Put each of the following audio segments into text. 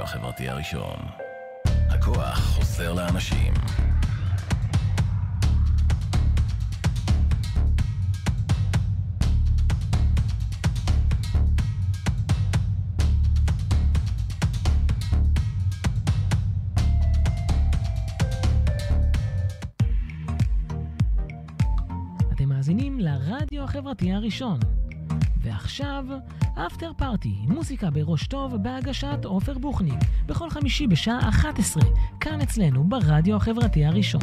החברתי הראשון. הכוח חוזר לאנשים. אתם מאזינים לרדיו החברתי הראשון. ועכשיו, אפטר פארטי, מוזיקה בראש טוב בהגשת עופר בוכניק, בכל חמישי בשעה 11, כאן אצלנו ברדיו החברתי הראשון.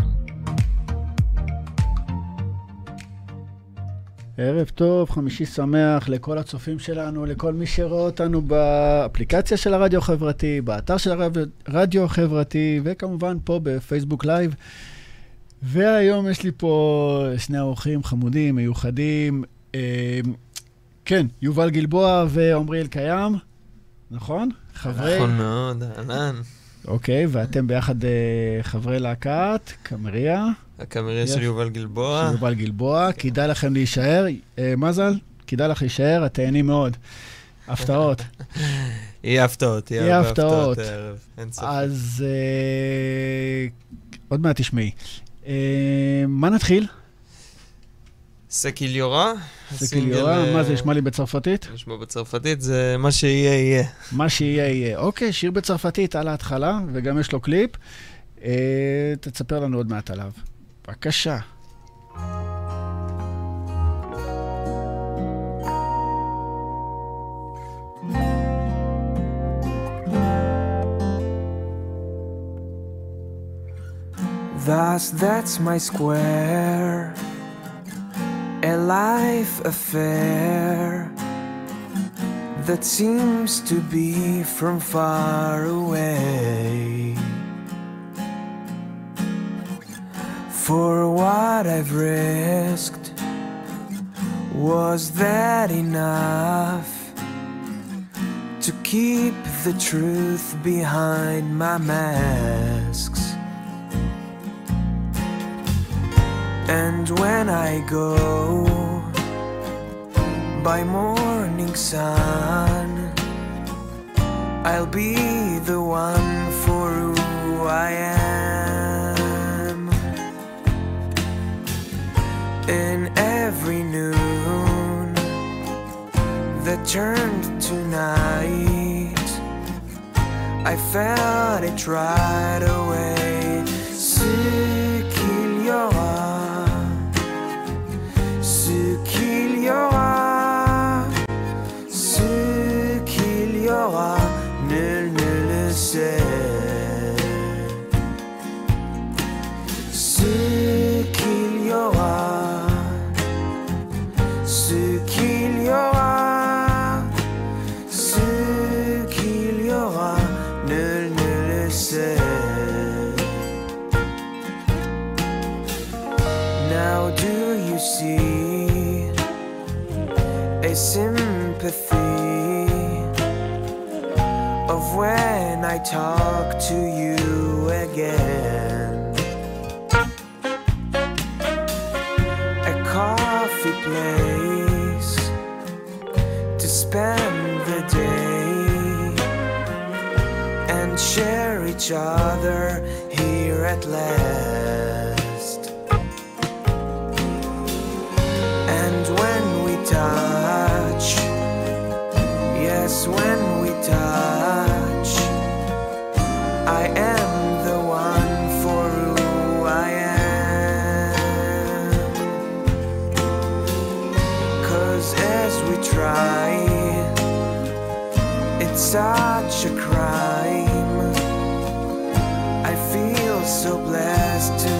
ערב טוב, חמישי שמח לכל הצופים שלנו, לכל מי שרואה אותנו באפליקציה של הרדיו החברתי, באתר של הרדיו החברתי, וכמובן פה בפייסבוק לייב. והיום יש לי פה שני אורחים חמודים, מיוחדים, כן, יובל גלבוע ועומרי אלקיים, נכון? נכון מאוד, אהלן. אוקיי, ואתם ביחד חברי להקת, קמריה. הקמריה של יובל גלבוע. של יובל גלבוע, כדאי לכם להישאר. מזל, כדאי לך להישאר, את תהנים מאוד. הפתעות. יהיה הפתעות, יהיה הפתעות הערב, אין ספק. אז עוד מעט תשמעי. מה נתחיל? סקיליורה. סקיליורה, מה זה נשמע לי בצרפתית? נשמע בצרפתית, זה מה שיהיה יהיה. מה שיהיה יהיה. אוקיי, שיר בצרפתית על ההתחלה, וגם יש לו קליפ. תספר לנו עוד מעט עליו. בבקשה. That's my square, a life affair that seems to be from far away. For what I've risked, was that enough to keep the truth behind my masks? And when I go by morning sun, I'll be the one for who I am. In every noon that turned to night, I felt it right away. Ce qu'il y aura, ce qu'il y aura, ce qu'il y aura, nul ne le sait. Ce qu'il y aura, ce qu'il y aura, ce qu'il y aura, nul ne le sait. Now do you see a sympathy of when I talk to you again? A coffee place to spend the day and share each other here at last. And when we touch, yes, when we touch, I am the one for who I am. 'Cause as we try, it's such a crime. I feel so blessed to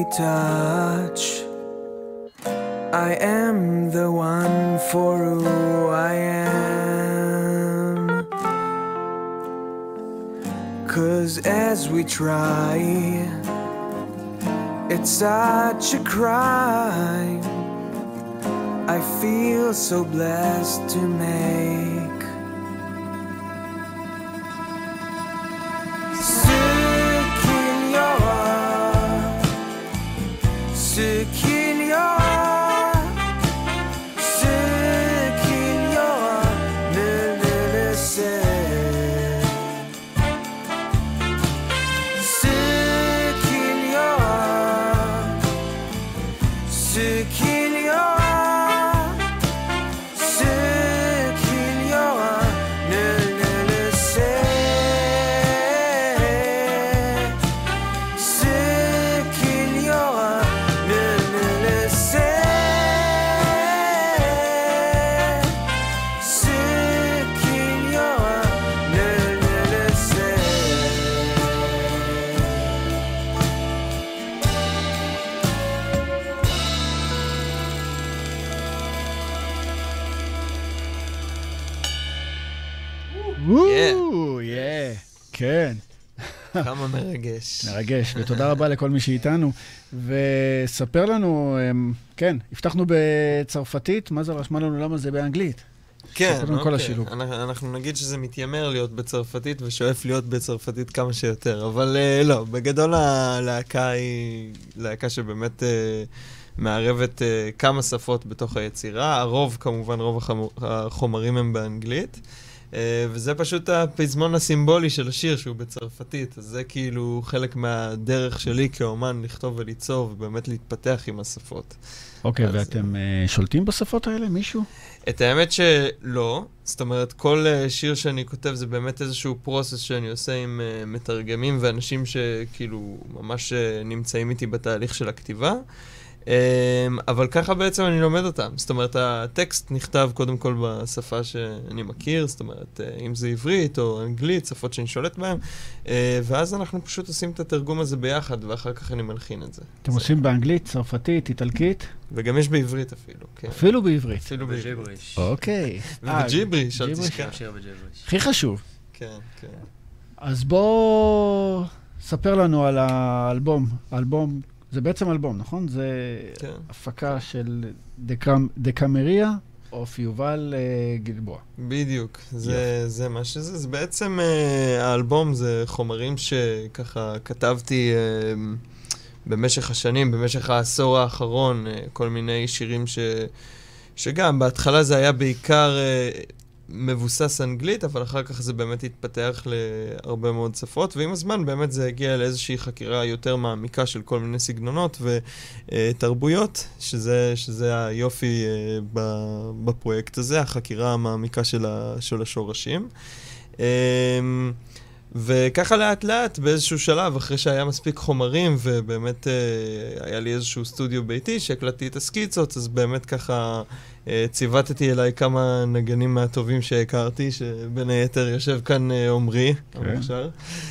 touch, I am the one for who I am. 'Cause as we try, it's such a crime I feel so blessed to make. Sick in your heart, sick in your heart, sick in your heart, sick in your heart, sick in your heart. כן. כמה מרגש. מרגש, ותודה רבה לכל מי שאיתנו. וספר לנו, כן, הבטחנו בצרפתית, מה זה רשמה לנו למה זה באנגלית? כן, אוקיי. אנחנו נגיד שזה מתיימר להיות בצרפתית ושואף להיות בצרפתית כמה שיותר, אבל לא, בגדול הלהקה היא להקה שבאמת מערבת כמה שפות בתוך היצירה. הרוב, כמובן, רוב החומרים הם באנגלית. וזה פשוט הפזמון הסימבולי של השיר שהוא בצרפתית, אז זה כאילו חלק מהדרך שלי כאומן לכתוב וליצור ובאמת להתפתח עם השפות. אוקיי, ואתם שולטים בשפות האלה, מישהו? את האמת שלא, זאת אומרת כל שיר שאני כותב זה באמת איזשהו פרוסס שאני עושה עם מתרגמים ואנשים שכאילו ממש נמצאים איתי בתהליך של הכתיבה. אבל ככה בעצם אני לומד אותם. זאת אומרת, הטקסט נכתב קודם כל בשפה שאני מכיר, זאת אומרת, אם זה עברית או אנגלית, שפות שאני שולט בהן, ואז אנחנו פשוט עושים את התרגום הזה ביחד, ואחר כך אני מלחין את זה. אתם עושים באנגלית, צרפתית, איטלקית? וגם יש בעברית אפילו, כן. אפילו בעברית? אפילו בעברית. אוקיי. ובג'יבריש, אל תשכח. הכי חשוב. כן, כן. אז בוא ספר לנו על האלבום. האלבום זה בעצם אלבום, נכון? זה הפקה של דקמריה או יובל גלבוע. בדיוק, זה מה שזה. זה בעצם האלבום זה חומרים שככה כתבתי במשך השנים, במשך העשור האחרון, כל מיני שירים שגם בהתחלה זה היה בעיקר מבוסס אנגלית, אבל אחר כך זה באמת התפתח להרבה מאוד שפות, ועם הזמן באמת זה הגיע לאיזושהי חקירה יותר מעמיקה של כל מיני סגנונות ותרבויות, שזה היופי בפרויקט הזה, החקירה המעמיקה של השורשים. וככה לאט לאט באיזשהו שלב, אחרי שהיה מספיק חומרים, ובאמת היה לי איזשהו סטודיו ביתי שהקלטתי את הסקיצות, אז באמת ככה ציוותתי אליי כמה נגנים מהטובים שהכרתי, שבין היתר יושב כאן עומרי, המוכשר.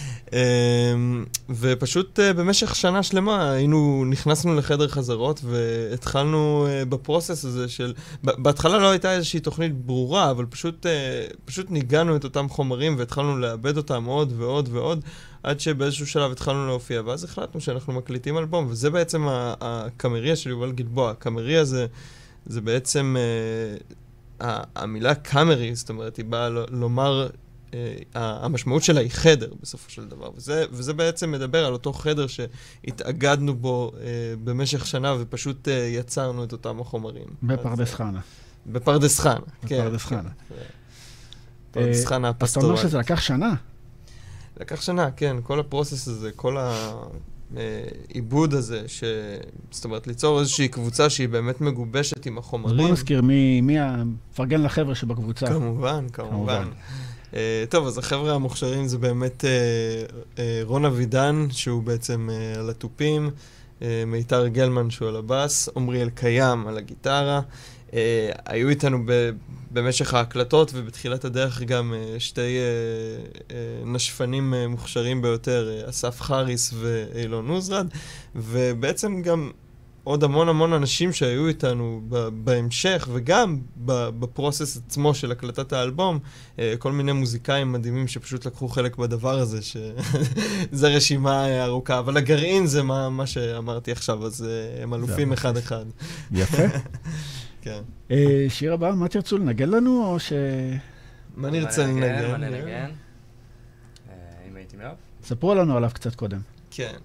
ופשוט במשך שנה שלמה נכנסנו לחדר חזרות והתחלנו בפרוסס הזה של, בהתחלה לא הייתה איזושהי תוכנית ברורה, אבל פשוט ניגענו את אותם חומרים והתחלנו לאבד אותם עוד ועוד ועוד, עד שבאיזשהו שלב התחלנו להופיע, ואז החלטנו שאנחנו מקליטים אלבום, וזה בעצם הקמריה של יובל גלבוע. הקמריה זה בעצם המילה קאמרי, זאת אומרת, היא באה לומר, המשמעות שלה היא חדר בסופו של דבר, וזה בעצם מדבר על אותו חדר שהתאגדנו בו במשך שנה, ופשוט יצרנו את אותם החומרים. בפרדס חנה. בפרדס חנה, כן. בפרדס חנה. פרדס חנה הפסטורלית. אז אתה אומר שזה לקח שנה? לקח שנה, כן. כל הפרוסס הזה, כל העיבוד הזה, זאת אומרת, ליצור איזושהי קבוצה שהיא באמת מגובשת עם החומרים. אז בוא נזכיר מי הפרגן לחבר'ה שבקבוצה. כמובן. טוב, אז החבר'ה המוכשרים זה באמת רון אבידן, שהוא בעצם על הטופים, מיתר גלמן שהוא על הבאס, עומרי אלקיים על הגיטרה. היו איתנו במשך ההקלטות ובתחילת הדרך גם שתי נשפנים מוכשרים ביותר, אסף חריס ואילון עוזרד, ובעצם גם עוד המון אנשים שהיו איתנו בהמשך, וגם בפרוסס עצמו של הקלטת האלבום, כל מיני מוזיקאים מדהימים שפשוט לקחו חלק בדבר הזה, שזה רשימה ארוכה, אבל הגרעין זה מה שאמרתי עכשיו, אז הם אלופים אחד-אחד. יפה. כן. שיר הבא, מה תרצו לנגן לנו, או ש... מה נרצה לנגן? מה ננגן? אם הייתי מאוהב? ספרו לנו עליו קצת קודם. כן.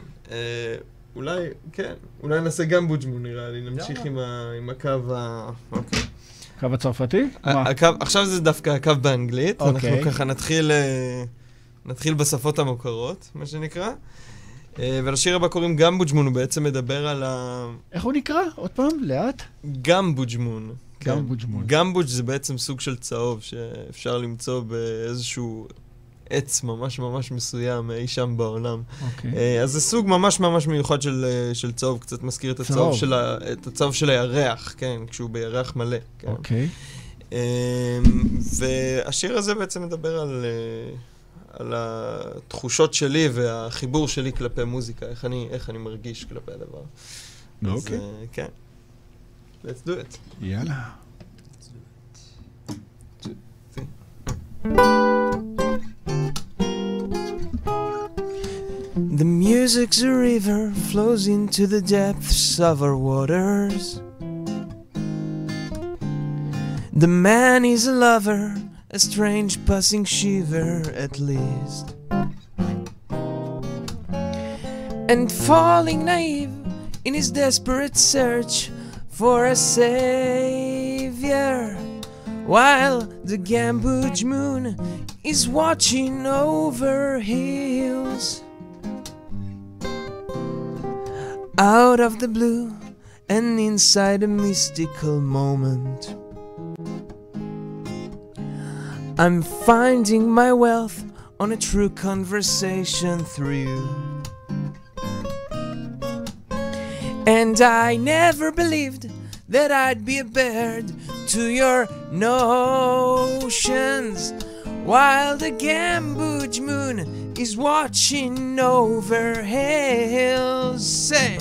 אולי נעשה גם בוג'מון, נראה לי, נמשיך עם הקו אוקיי. הקו הצרפתי? עכשיו זה דווקא הקו באנגלית, אנחנו אוקיי. ככה נתחיל בשפות המוכרות, מה שנקרא. ולשיר הבא קוראים גם בוג'מון, הוא בעצם מדבר על איך הוא נקרא? עוד פעם, לאט? גם בוג'מון. גם בוג'מון. גם בוג' זה בעצם סוג של צהוב שאפשר למצוא באיזשהו עץ ממש מסוים אי שם בעולם. אז זה סוג ממש מיוחד של צהוב, קצת מזכיר את הצהוב של הירח, כן, כשהוא בירח מלא. אוקיי. והשיר הזה בעצם מדבר על התחושות שלי והחיבור שלי כלפי מוזיקה, איך אני מרגיש כלפי הדבר. אוקיי. אז כן. Let's do it. יאללה. The music's a river flows into the depths of our waters. The man is a lover, a strange passing shiver at least. And falling naive in his desperate search for a savior, while the Gambuge moon is watching over hills. Out of the blue and inside a mystical moment, I'm finding my wealth on a true conversation through you. And I never believed that I'd be a bird to your notions, while the Gambuge moon is watching over hills. Say,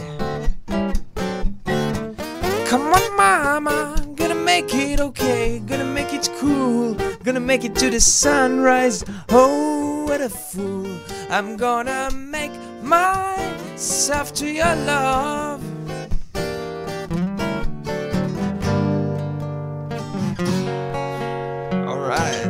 come on mama, gonna make it okay, gonna make it cool, gonna make it to the sunrise. Oh, what a fool, I'm gonna make myself to your love. All right.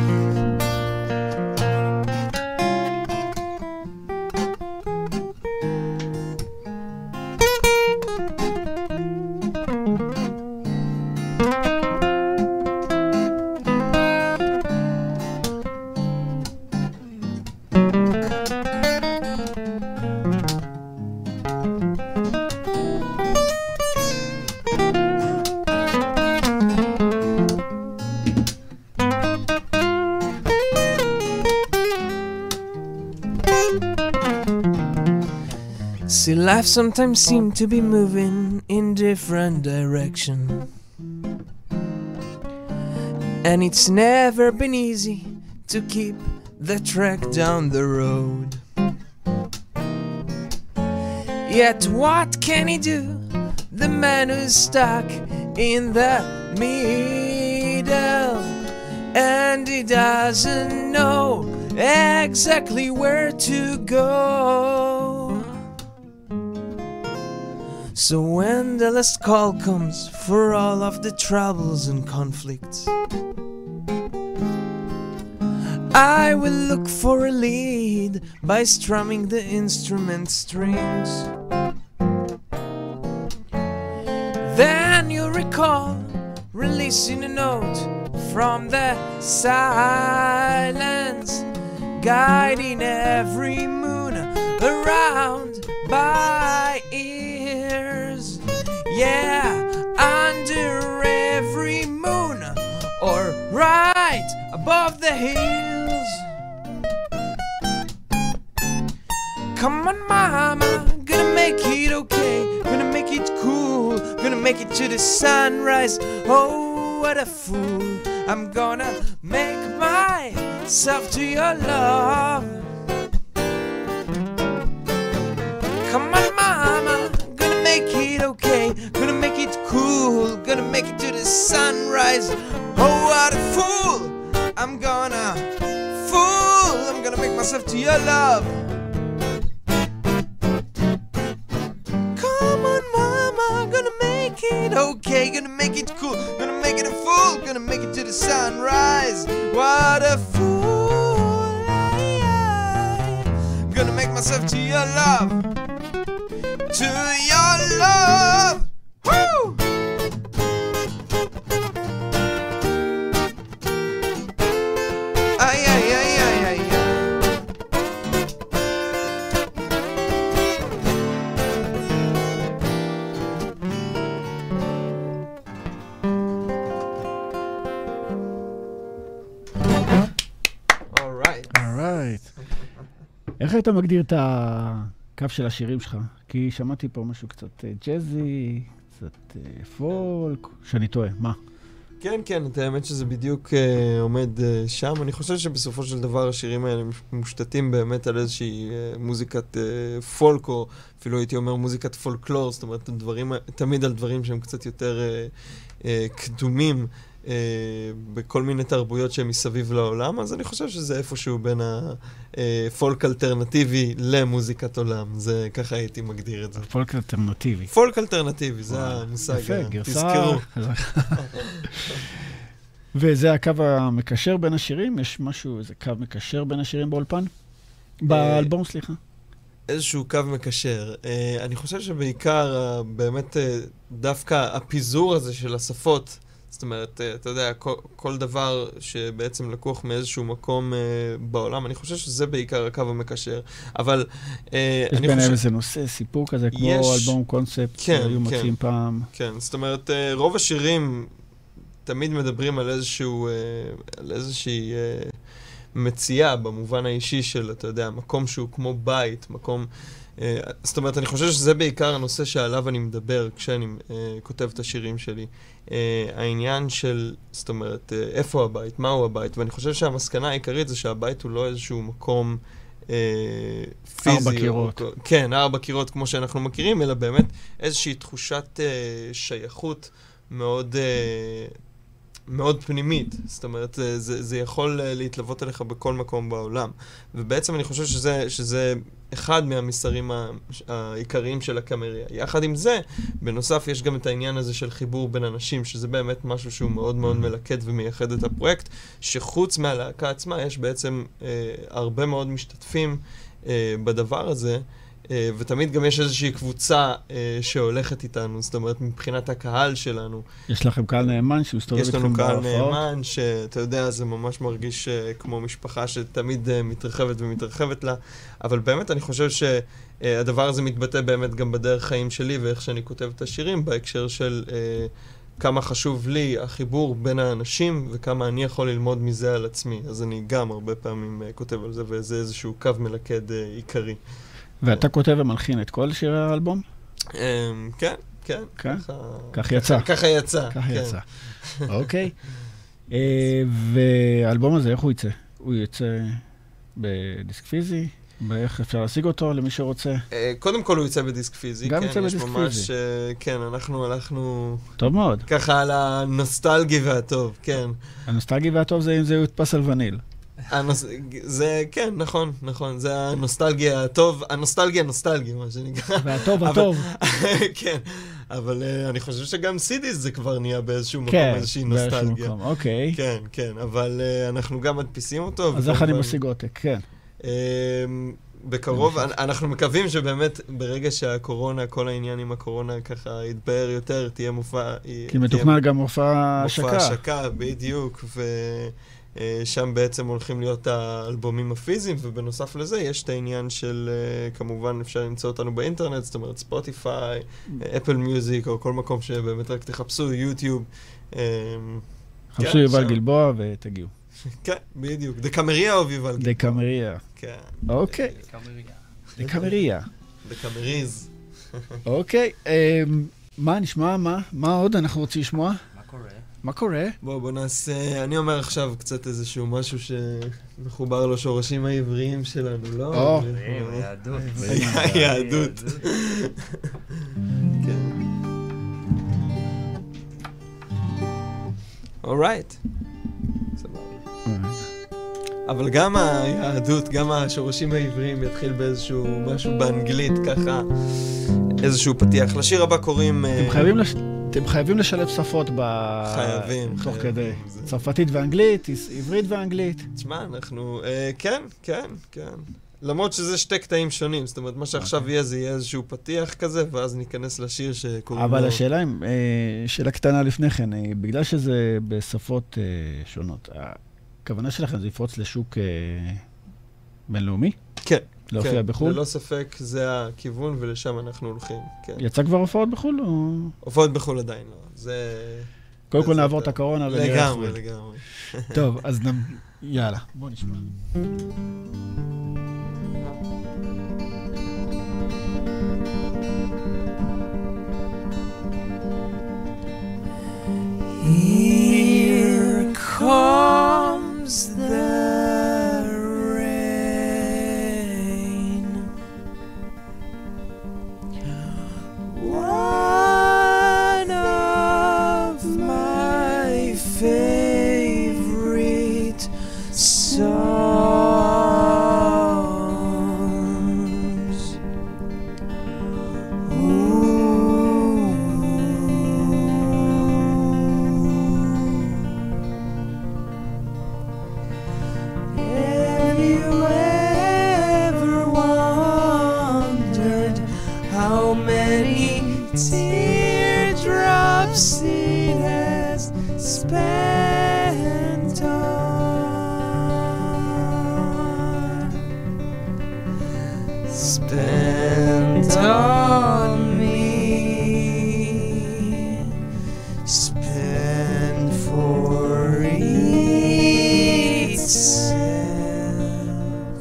See, life sometimes seems to be moving in different direction, and it's never been easy to keep the track down the road. Yet what can he do, the man who's stuck in the middle, and he doesn't know exactly where to go? So when the last call comes for all of the troubles and conflicts, I will look for a lead by strumming the instrument strings. Then you'll recall releasing a note from the silence, guiding every moon around by ears. Yeah, under every moon, or right above the hills. Come on mama, gonna make it okay, gonna make it cool, gonna make it to the sunrise. Oh, what a fool. I'm gonna make myself to your love. Come on, mama, gonna make it okay, gonna make it cool, gonna make it to the sunrise. Oh, what a fool. I'm gonna make myself to your love. Come on, mama, gonna make it okay, gonna make it cool, gonna make it a fool, gonna make it to the sunrise. What a fool I am. Gonna make myself to your love, to your love. Woo! Ay, ay, ay, ay, ay, ay. איך היית מגדיר את הקו של השירים שלך? כי שמעתי פה משהו קצת ג'אזי, קצת פולק, שאני טועה, מה? כן, כן, את האמת שזה בדיוק עומד שם. אני חושב שבסופו של דבר השירים האלה מושתתים באמת על איזושהי מוזיקת פולק, או אפילו הייתי אומר מוזיקת פולקלור, זאת אומרת, תמיד על דברים שהם קצת יותר קדומים בכל מיני תרבויות שהם מסביב לעולם, אז אני חושב שזה איפשהו בין הפולק אלטרנטיבי למוזיקת עולם. זה ככה הייתי מגדיר את זה. פולק אלטרנטיבי. פולק אלטרנטיבי, זה המושג. יפה, גרסה. תזכרו. וזה הקו המקשר בין השירים? יש משהו, איזה קו מקשר בין השירים באולפן? באלבום, סליחה. איזשהו קו מקשר. אני חושב שבעיקר באמת דווקא הפיזור הזה של השפות, זאת אומרת, אתה יודע, כל דבר שבעצם לקוח מאיזשהו מקום בעולם, אני חושב שזה בעיקר הקו המקשר. אבל יש ביניהם איזה נושא, סיפור כזה, כמו אלבום קונספט שהיו מוצאים פעם. כן, זאת אומרת, רוב השירים תמיד מדברים על איזושהי מציאה במובן האישי של, אתה יודע, מקום שהוא כמו בית, מקום... זאת אומרת, אני חושב שזה בעיקר הנושא שעליו אני מדבר כשאני כותב את השירים שלי. העניין של, זאת אומרת, איפה הבית, מהו הבית, ואני חושב שהמסקנה העיקרית זה שהבית הוא לא איזשהו מקום פיזי. 4 קירות. כן, 4 קירות כמו שאנחנו מכירים, אלא באמת איזושהי תחושת שייכות מאוד... מאוד פנימית, זאת אומרת, זה יכול להתלוות אליך בכל מקום בעולם. ובעצם אני חושב שזה אחד מהמסרים העיקריים של הקאמריה. יחד עם זה, בנוסף יש גם את העניין הזה של חיבור בין אנשים, שזה באמת משהו שהוא מאוד מאוד מלכד ומייחד את הפרויקט, שחוץ מהלהקה עצמה יש בעצם הרבה מאוד משתתפים בדבר הזה, ותמיד גם יש איזושהי קבוצה שהולכת איתנו, זאת אומרת, מבחינת הקהל שלנו. יש לכם קהל נאמן שמסתובב איתכם בהופעות? יש לנו בהופעות? קהל נאמן שאתה יודע, זה ממש מרגיש כמו משפחה שתמיד מתרחבת ומתרחבת לה, אבל באמת אני חושב שהדבר הזה מתבטא באמת גם בדרך חיים שלי ואיך שאני כותב את השירים, בהקשר של כמה חשוב לי החיבור בין האנשים וכמה אני יכול ללמוד מזה על עצמי. אז אני גם הרבה פעמים כותב על זה, וזה איזשהו קו מלכד עיקרי. ואתה כותב ומלחין את כל שירי האלבום? כן, כן. כך יצא. ככה יצא. ככה יצא. אוקיי. והאלבום הזה, איך הוא יצא? הוא יצא בדיסק פיזי? ואיך אפשר להשיג אותו למי שרוצה? קודם כל הוא יצא בדיסק פיזי. גם יצא בדיסק פיזי. כן, אנחנו הלכנו... טוב מאוד. ככה על הנוסטלגי והטוב, כן. הנוסטלגי והטוב זה אם זה יודפס על וניל. זה, כן, נכון, נכון. זה הנוסטלגיה הטוב, הנוסטלגיה, מה שנקרא. והטוב, הטוב. כן, אבל אני חושב שגם סידיס זה כבר נהיה באיזשהו מקום, כן, איזושהי נוסטלגיה. באיזשהו מקום, אוקיי. כן, כן, אבל אנחנו גם מדפיסים אותו. אז איך אני משיג עותק, כן. בקרוב, אנחנו מקווים שבאמת ברגע שהקורונה, כל העניין עם הקורונה ככה יתבהר יותר, תהיה מופע... כי מתוכנן גם מופע השקה. מופע השקה, בדיוק, ושם בעצם הולכים להיות האלבומים הפיזיים, ובנוסף לזה יש את העניין של, כמובן אפשר למצוא אותנו באינטרנט, זאת אומרת ספוטיפיי, אפל מיוזיק, או כל מקום שבאמת רק תחפשו, יוטיוב. חפשו יובל גלבוע ותגיעו. כן, בדיוק. דקאמריה או ויובל גלבוע? דקאמריה. כן. אוקיי. דקאמריה. דקאמריז. אוקיי. מה נשמע? מה עוד אנחנו רוצים לשמוע? מה קורה? מה קורה? בוא נעשה, אני אומר עכשיו קצת איזשהו משהו שמחובר לשורשים העבריים שלנו, לא? היהדות. היהדות. כן. אורייט. אבל גם היהדות, גם השורשים העבריים יתחיל באיזשהו משהו באנגלית, ככה, איזשהו פתיח. לשיר הבא קוראים... אתם חייבים לשלב שפות חייבים. תוך כדי. צרפתית ואנגלית, עברית ואנגלית. תשמע, אנחנו... כן. למרות שזה שתי קטעים שונים, זאת אומרת, מה שעכשיו יהיה, זה יהיה איזשהו פתיח כזה, ואז ניכנס לשיר שקוראים לו... אבל השאלה, שאלה קטנה לפני כן, בגלל שזה בשפות שונות, הכוונה שלכם זה לפרוץ לשוק בינלאומי? כן. להופיע בחו"ל? ללא ספק, זה הכיוון, ולשם אנחנו הולכים, כן. יצא כבר הופעות בחו"ל או...? הופעות בחו"ל עדיין לא, זה... קודם כל נעבור את הקורונה ונראה חו"ל. לגמרי. טוב, אז יאללה, בוא נשמע. Here comes the rain. One of my favorite songs. Have you ever wondered how many teardrops it has spent on me, spent for itself.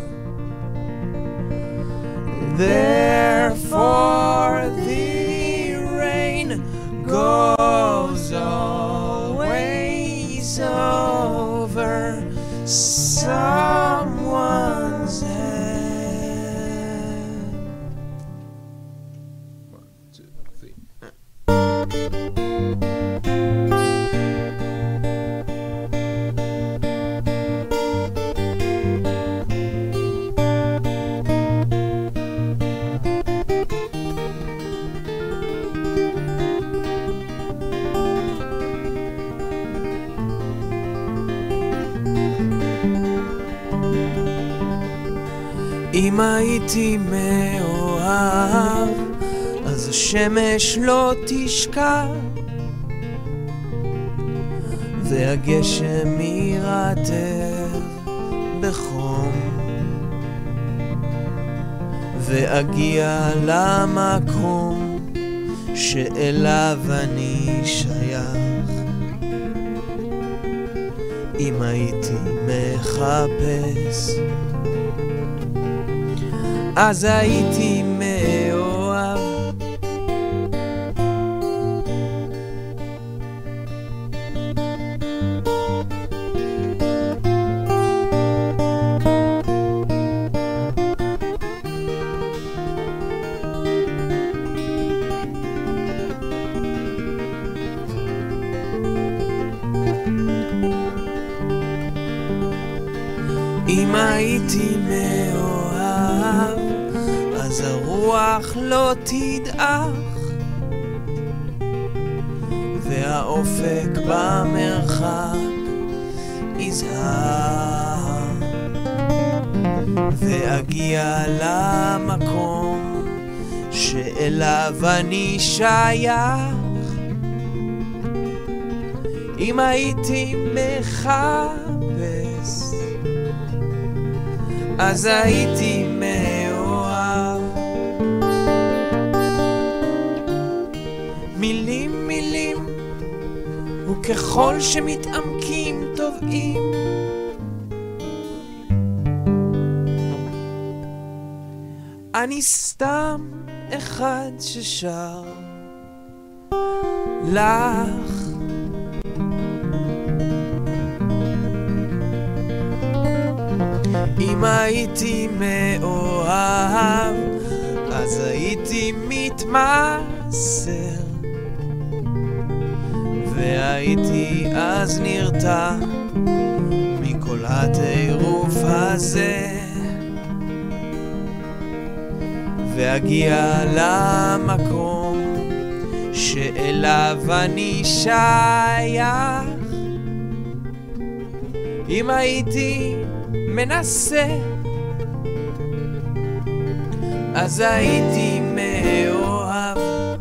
Therefore the rain goes always over someone's head. 1, 2, 3. אם הייתי מאוהב, אז השמש לא תשקע, והגשם ירטב בחום, ואגיע למקום שאליו אני שייך. אם הייתי מחפש, אז הייתי מאוהב. אם הייתי מאוהב, אז הרוח לא תדעך, והאופק במרחק יזהר, ואגיע למקום שאליו אני שייך. אם הייתי מחפש, אז הייתי מאוהב. מילים מילים, וככל שמתעמקים טובעים, אני סתם אחד ששר לך אם הייתי מאוהב, אז הייתי מתמסר, והייתי אז נרתע מכל הטירוף הזה, והגיע למקום שאליו אני שייך. אם הייתי מנסה, אז הייתי מאוהב.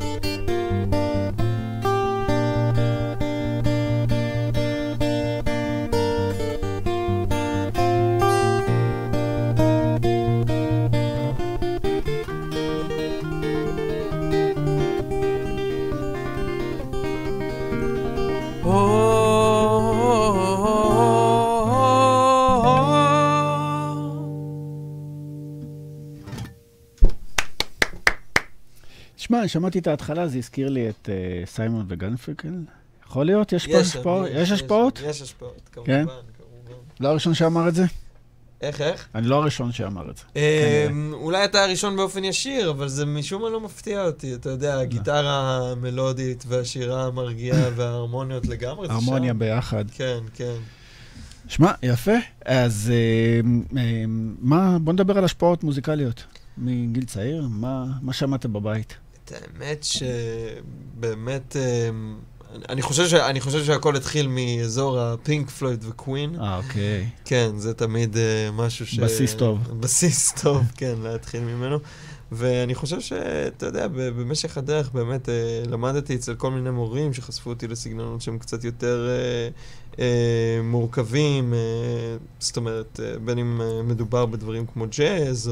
תשמע, אני שמעתי את ההתחלה, זה הזכיר לי את סיימון וגרפנקל. יכול להיות? יש פה השפעות? יש השפעות? יש השפעות, כמובן. כן? לא הראשון שאמר את זה? איך? אני לא הראשון שאמר את זה. אולי אתה הראשון באופן ישיר, אבל זה משום מה לא מפתיע אותי. אתה יודע, הגיטרה המלודית והשירה המרגיעה וההרמוניות לגמרי. הרמוניה ביחד. כן, כן. שמע, יפה. אז בוא נדבר על השפעות מוזיקליות. מגיל צעיר, מה שמעת בבית? את האמת שבאמת, אני חושב שהכל התחיל מאזור הפינק פלויד וקווין. אוקיי. כן, זה תמיד משהו בסיס טוב. בסיס טוב, כן, להתחיל ממנו. ואני חושב שאתה יודע, במשך הדרך באמת למדתי אצל כל מיני מורים שחשפו אותי לסגנונות שהם קצת יותר מורכבים, זאת אומרת, בין אם מדובר בדברים כמו ג'אז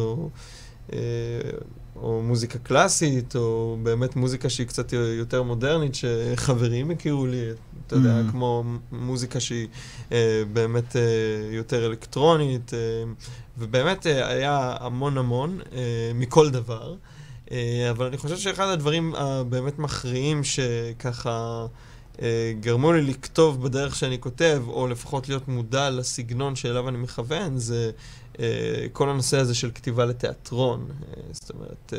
או מוזיקה קלאסית, או באמת מוזיקה שהיא קצת יותר מודרנית, שחברים הכירו לי, אתה יודע, כמו מוזיקה שהיא באמת יותר אלקטרונית, ובאמת היה המון מכל דבר, אבל אני חושב שאחד הדברים הבאמת מכריעים שככה גרמו לי לכתוב בדרך שאני כותב, או לפחות להיות מודע לסגנון שאליו אני מכוון, זה כל הנושא הזה של כתיבה לתיאטרון. זאת אומרת,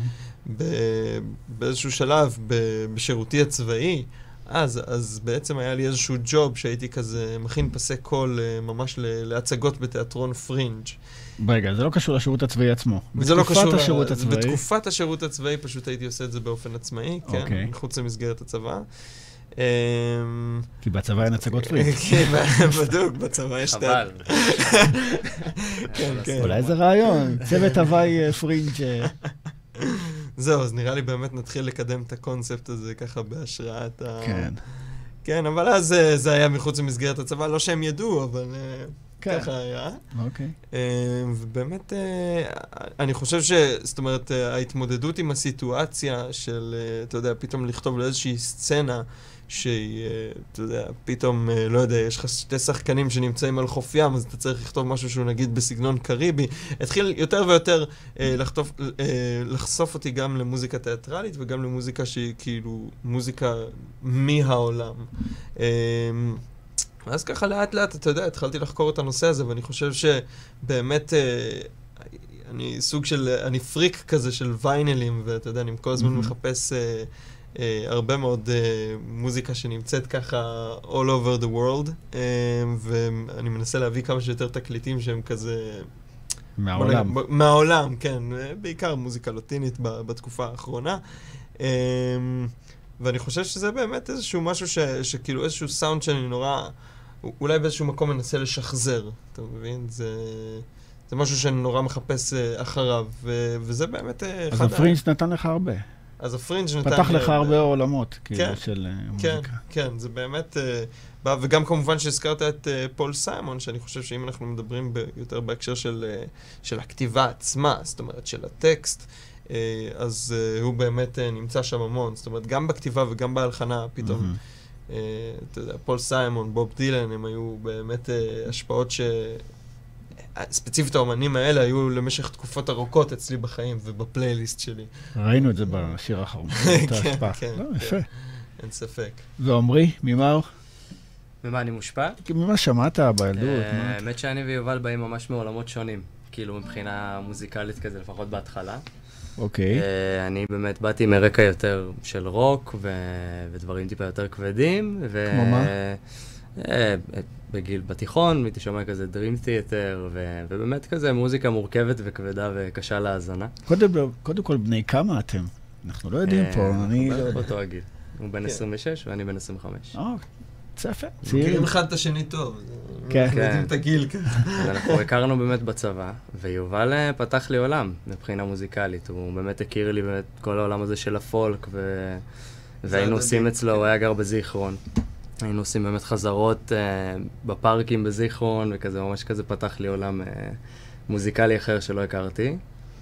באיזשהו שלב, בשירותי הצבאי, אז בעצם היה לי איזשהו ג'וב שהייתי כזה מכין פסי קול ממש להצגות בתיאטרון פרינג'. רגע, זה לא קשור לשירות הצבאי עצמו. זה לא קשור השירות הצבאי. בתקופת השירות הצבאי פשוט הייתי עושה את זה באופן עצמאי, כן, מחוץ למסגרת הצבא. כי בצבא אין הצגות פרינג'. כן, בדיוק, בצבא יש חבל. אולי זה רעיון, צוות הוואי פרינג'. זהו, אז נראה לי באמת נתחיל לקדם את הקונספט הזה ככה בהשראת ה... כן. כן, אבל אז זה היה מחוץ למסגרת הצבא, לא שהם ידעו, אבל ככה היה. אוקיי. ובאמת, אני חושב זאת אומרת, ההתמודדות עם הסיטואציה של, אתה יודע, פתאום לכתוב לאיזושהי סצנה, שהיא, אתה יודע, פתאום, לא יודע, יש לך שתי שחקנים שנמצאים על חוף ים, אז אתה צריך לכתוב משהו שהוא נגיד בסגנון קריבי. התחיל יותר ויותר לחשוף אותי גם למוזיקה תיאטרלית, וגם למוזיקה שהיא כאילו מוזיקה מהעולם. אז ככה לאט לאט, אתה יודע, התחלתי לחקור את הנושא הזה, ואני חושב שבאמת אני סוג של, אני פריק כזה של ויינלים, ואתה יודע, אני כל הזמן מחפש הרבה מאוד מוזיקה שנמצאת ככה all over the world, ואני מנסה להביא כמה שיותר תקליטים שהם כזה... מהעולם. מהעולם, כן. בעיקר מוזיקה לטינית בתקופה האחרונה. ואני חושב שזה באמת איזשהו משהו שכאילו איזשהו סאונד שאני נורא, אולי באיזשהו מקום מנסה לשחזר, אתה מבין? זה משהו שאני נורא מחפש אחריו, וזה באמת אז הפרינג' נתן לך הרבה. אז הפרינג' נתן לי... פתח לך הרבה עולמות, כאילו, של מוזיקה. כן, זה באמת... וגם כמובן שהזכרת את פול סיימון, שאני חושב שאם אנחנו מדברים יותר בהקשר של הכתיבה עצמה, זאת אומרת, של הטקסט, אז הוא באמת נמצא שם המון. זאת אומרת, גם בכתיבה וגם בהלחנה, פתאום, אתה יודע, פול סיימון, בוב דילן, הם היו באמת השפעות ספציפית האומנים האלה היו למשך תקופות ארוכות אצלי בחיים ובפלייליסט שלי. ראינו את זה בשיר האחרון. כן, כן. לא, יפה. אין ספק. ועומרי, ממהו? ממה אני מושפע? ממה שמעת בילדות? האמת שאני ויובל באים ממש מעולמות שונים, כאילו מבחינה מוזיקלית כזה, לפחות בהתחלה. אוקיי. אני באמת באתי מרקע יותר של רוק ודברים טיפה יותר כבדים. כמו מה? בגיל בתיכון, הייתי שומע כזה Dream Theater, ובאמת כזה מוזיקה מורכבת וכבדה וקשה להאזנה. קודם כל, בני כמה אתם? אנחנו לא יודעים פה, אני לא יודע. באותו הגיל. הוא בן 26 ואני בן 25. צפה. מכירים אחד את השני טוב. כן. יודעים את הגיל כזה. אנחנו הכרנו באמת בצבא, ויובל פתח לי עולם מבחינה מוזיקלית. הוא באמת הכיר לי באמת כל העולם הזה של הפולק, והיינו עושים אצלו, הוא היה גר בזיכרון. היינו עושים באמת חזרות בפארקים בזיכרון, וכזה ממש כזה פתח לי עולם מוזיקלי אחר שלא הכרתי.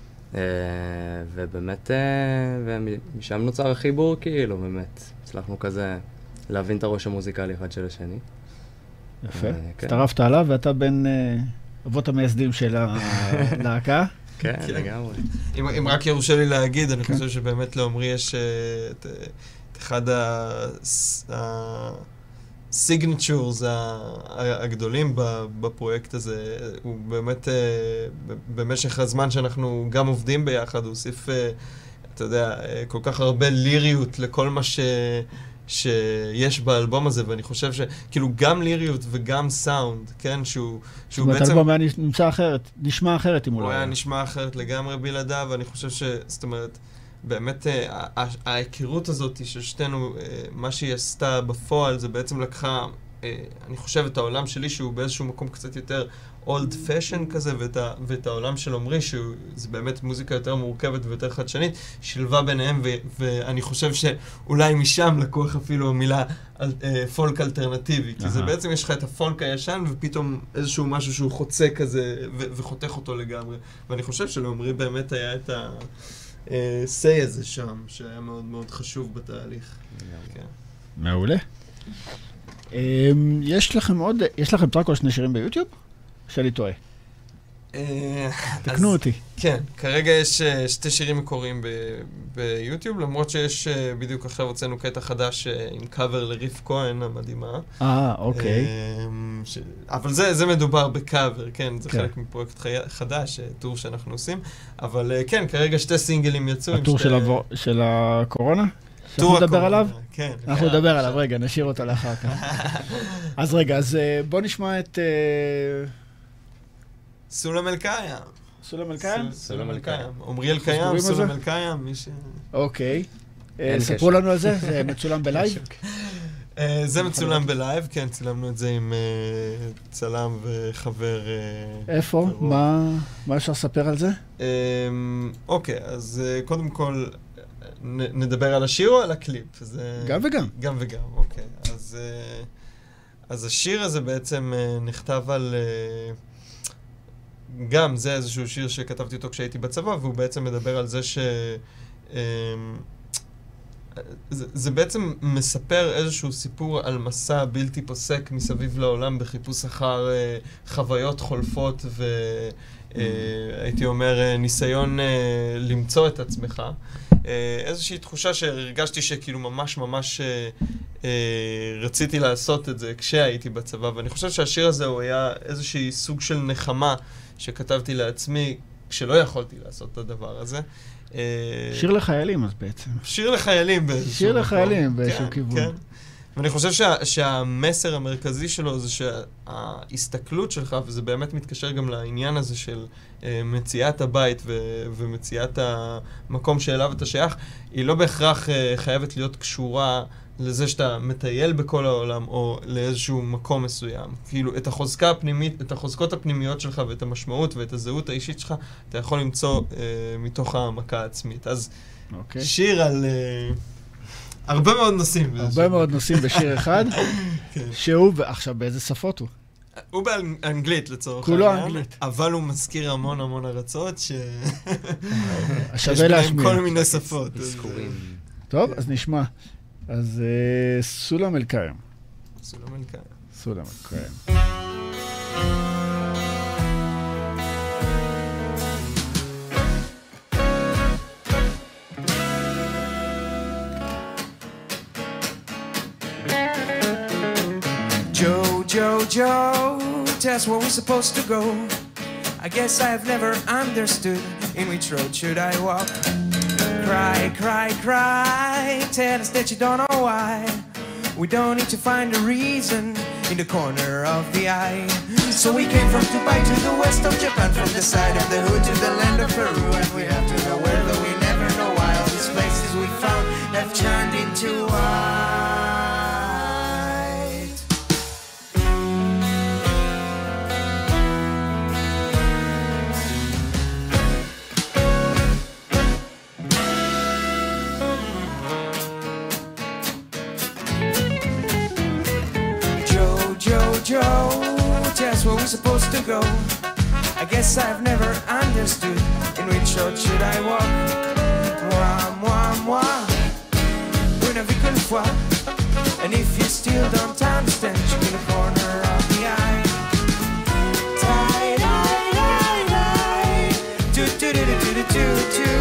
ובאמת, ומשם נוצר החיבור כאילו, באמת. הצלחנו כזה להבין את הראש המוזיקלי אחד של השני. יפה. הצטרפת עליו, ואתה בין אבות המייסדים של הלהקה. כן, לגמרי. אם רק יורשה לי להגיד, אני חושב שבאמת לעומרי יש את אחד הסיגנצ'ורס הגדולים בפרויקט הזה. הוא באמת, במשך הזמן שאנחנו גם עובדים ביחד, הוא הוסיף, אתה יודע, כל כך הרבה ליריות לכל מה שיש באלבום הזה, ואני חושב שכאילו גם ליריות וגם סאונד, כן, שהוא בעצם... זאת אומרת, האלבום היה נשמע אחרת אם הוא לא היה. הוא היה נשמע אחרת לגמרי בלעדיו, ואני חושב זאת אומרת, באמת ההיכרות הזאת של שתינו, מה שהיא עשתה בפועל, זה בעצם לקחה, אני חושב, את העולם שלי, שהוא באיזשהו מקום קצת יותר old fashion כזה, ואת העולם של עומרי, שזה באמת מוזיקה יותר מורכבת ויותר חדשנית, שילבה ביניהם, ואני חושב שאולי משם לקוח אפילו מילה פולק אלטרנטיבי, כי זה בעצם יש לך את הפולק הישן, ופתאום איזשהו משהו שהוא חוצה כזה, וחותך אותו לגמרי. ואני חושב שלעומרי באמת היה את say הזה שם, שהיה מאוד מאוד חשוב בתהליך. מעולה. יש לכם טרק או שני שירים ביוטיוב? שאני טועה. תקנו אותי. כן, כרגע יש 2 שירים מקוריים ביוטיוב, למרות שיש בדיוק עכשיו הוצאנו קטע חדש עם קאבר לריף כהן המדהימה. אוקיי. אבל זה מדובר בקאבר, כן, זה חלק מפרויקט חדש, טור שאנחנו עושים. אבל כן, כרגע 2 סינגלים יצאו. הטור של הקורונה? אנחנו נדבר עליו? כן. אנחנו נדבר עליו, רגע, נשאיר אותה לאחר כך. אז רגע, בוא נשמע את... סולם אל קיים. סולם אל קיים? סולם אל קיים. עומרי אל קיים, סולם אל קיים, מי ש... אוקיי. ספרו לנו על זה, זה מצולם בלייב? זה מצולם בלייב, כן, צילמנו את זה עם צלם וחבר... איפה? מה אפשר לספר על זה? אוקיי, אז קודם כל נדבר על השיר או על הקליפ? גם וגם. גם וגם, אוקיי. אז השיר הזה בעצם נכתב על... גם זה איזשהו שיר שכתבתי אותו כשהייתי בצבא, והוא בעצם מדבר על זה זה בעצם מספר איזשהו סיפור על מסע בלתי פוסק מסביב לעולם בחיפוש אחר חוויות חולפות והייתי אומר ניסיון למצוא את עצמך. איזושהי תחושה שהרגשתי שכאילו ממש רציתי לעשות את זה כשהייתי בצבא, ואני חושב שהשיר הזה הוא היה איזושהי סוג של נחמה שכתבתי לעצמי כשלא יכולתי לעשות את הדבר הזה. שיר לחיילים אז בעצם. שיר לחיילים באיזשהו שיר לחיילים באיזשהו כיוון. כן. ואני חושב שהמסר המרכזי שלו זה שההסתכלות שלך, וזה באמת מתקשר גם לעניין הזה של מציאת הבית ומציאת המקום שאליו אתה שייך, היא לא בהכרח חייבת להיות קשורה לזה שאתה מטייל בכל העולם או לאיזשהו מקום מסוים. כאילו את החוזקה הפנימית, את החוזקות הפנימיות שלך ואת המשמעות ואת הזהות האישית שלך, אתה יכול למצוא מתוך המכה העצמית. אז שיר על... הרבה מאוד נושאים. הרבה מאוד נושאים בשיר אחד, שהוא, עכשיו באיזה שפות הוא? הוא באנגלית לצורך כולו אנגלית. אבל הוא מזכיר המון ארצות שווה יש בהם להשמיע. כל מיני שפות. טוב, אז נשמע. אז סולם אל קיים. סולם אל קיים. סולם אל קיים. Joe, tell us where we're supposed to go. I guess I've never understood in which road should I walk. Cry, tell us that you don't know why. We don't need to find a reason in the corner of the eye. So we came from Dubai to the west of Japan, from the side of the hood to the land of Peru, and we have to know where, though we never know why. All these places we found have turned into white. Joe, tell us where we're supposed to go. I guess I've never understood in which road should I walk. Moi, une vie qu'une fois. And if you still don't understand, you're in the corner of the eye. Tie, do.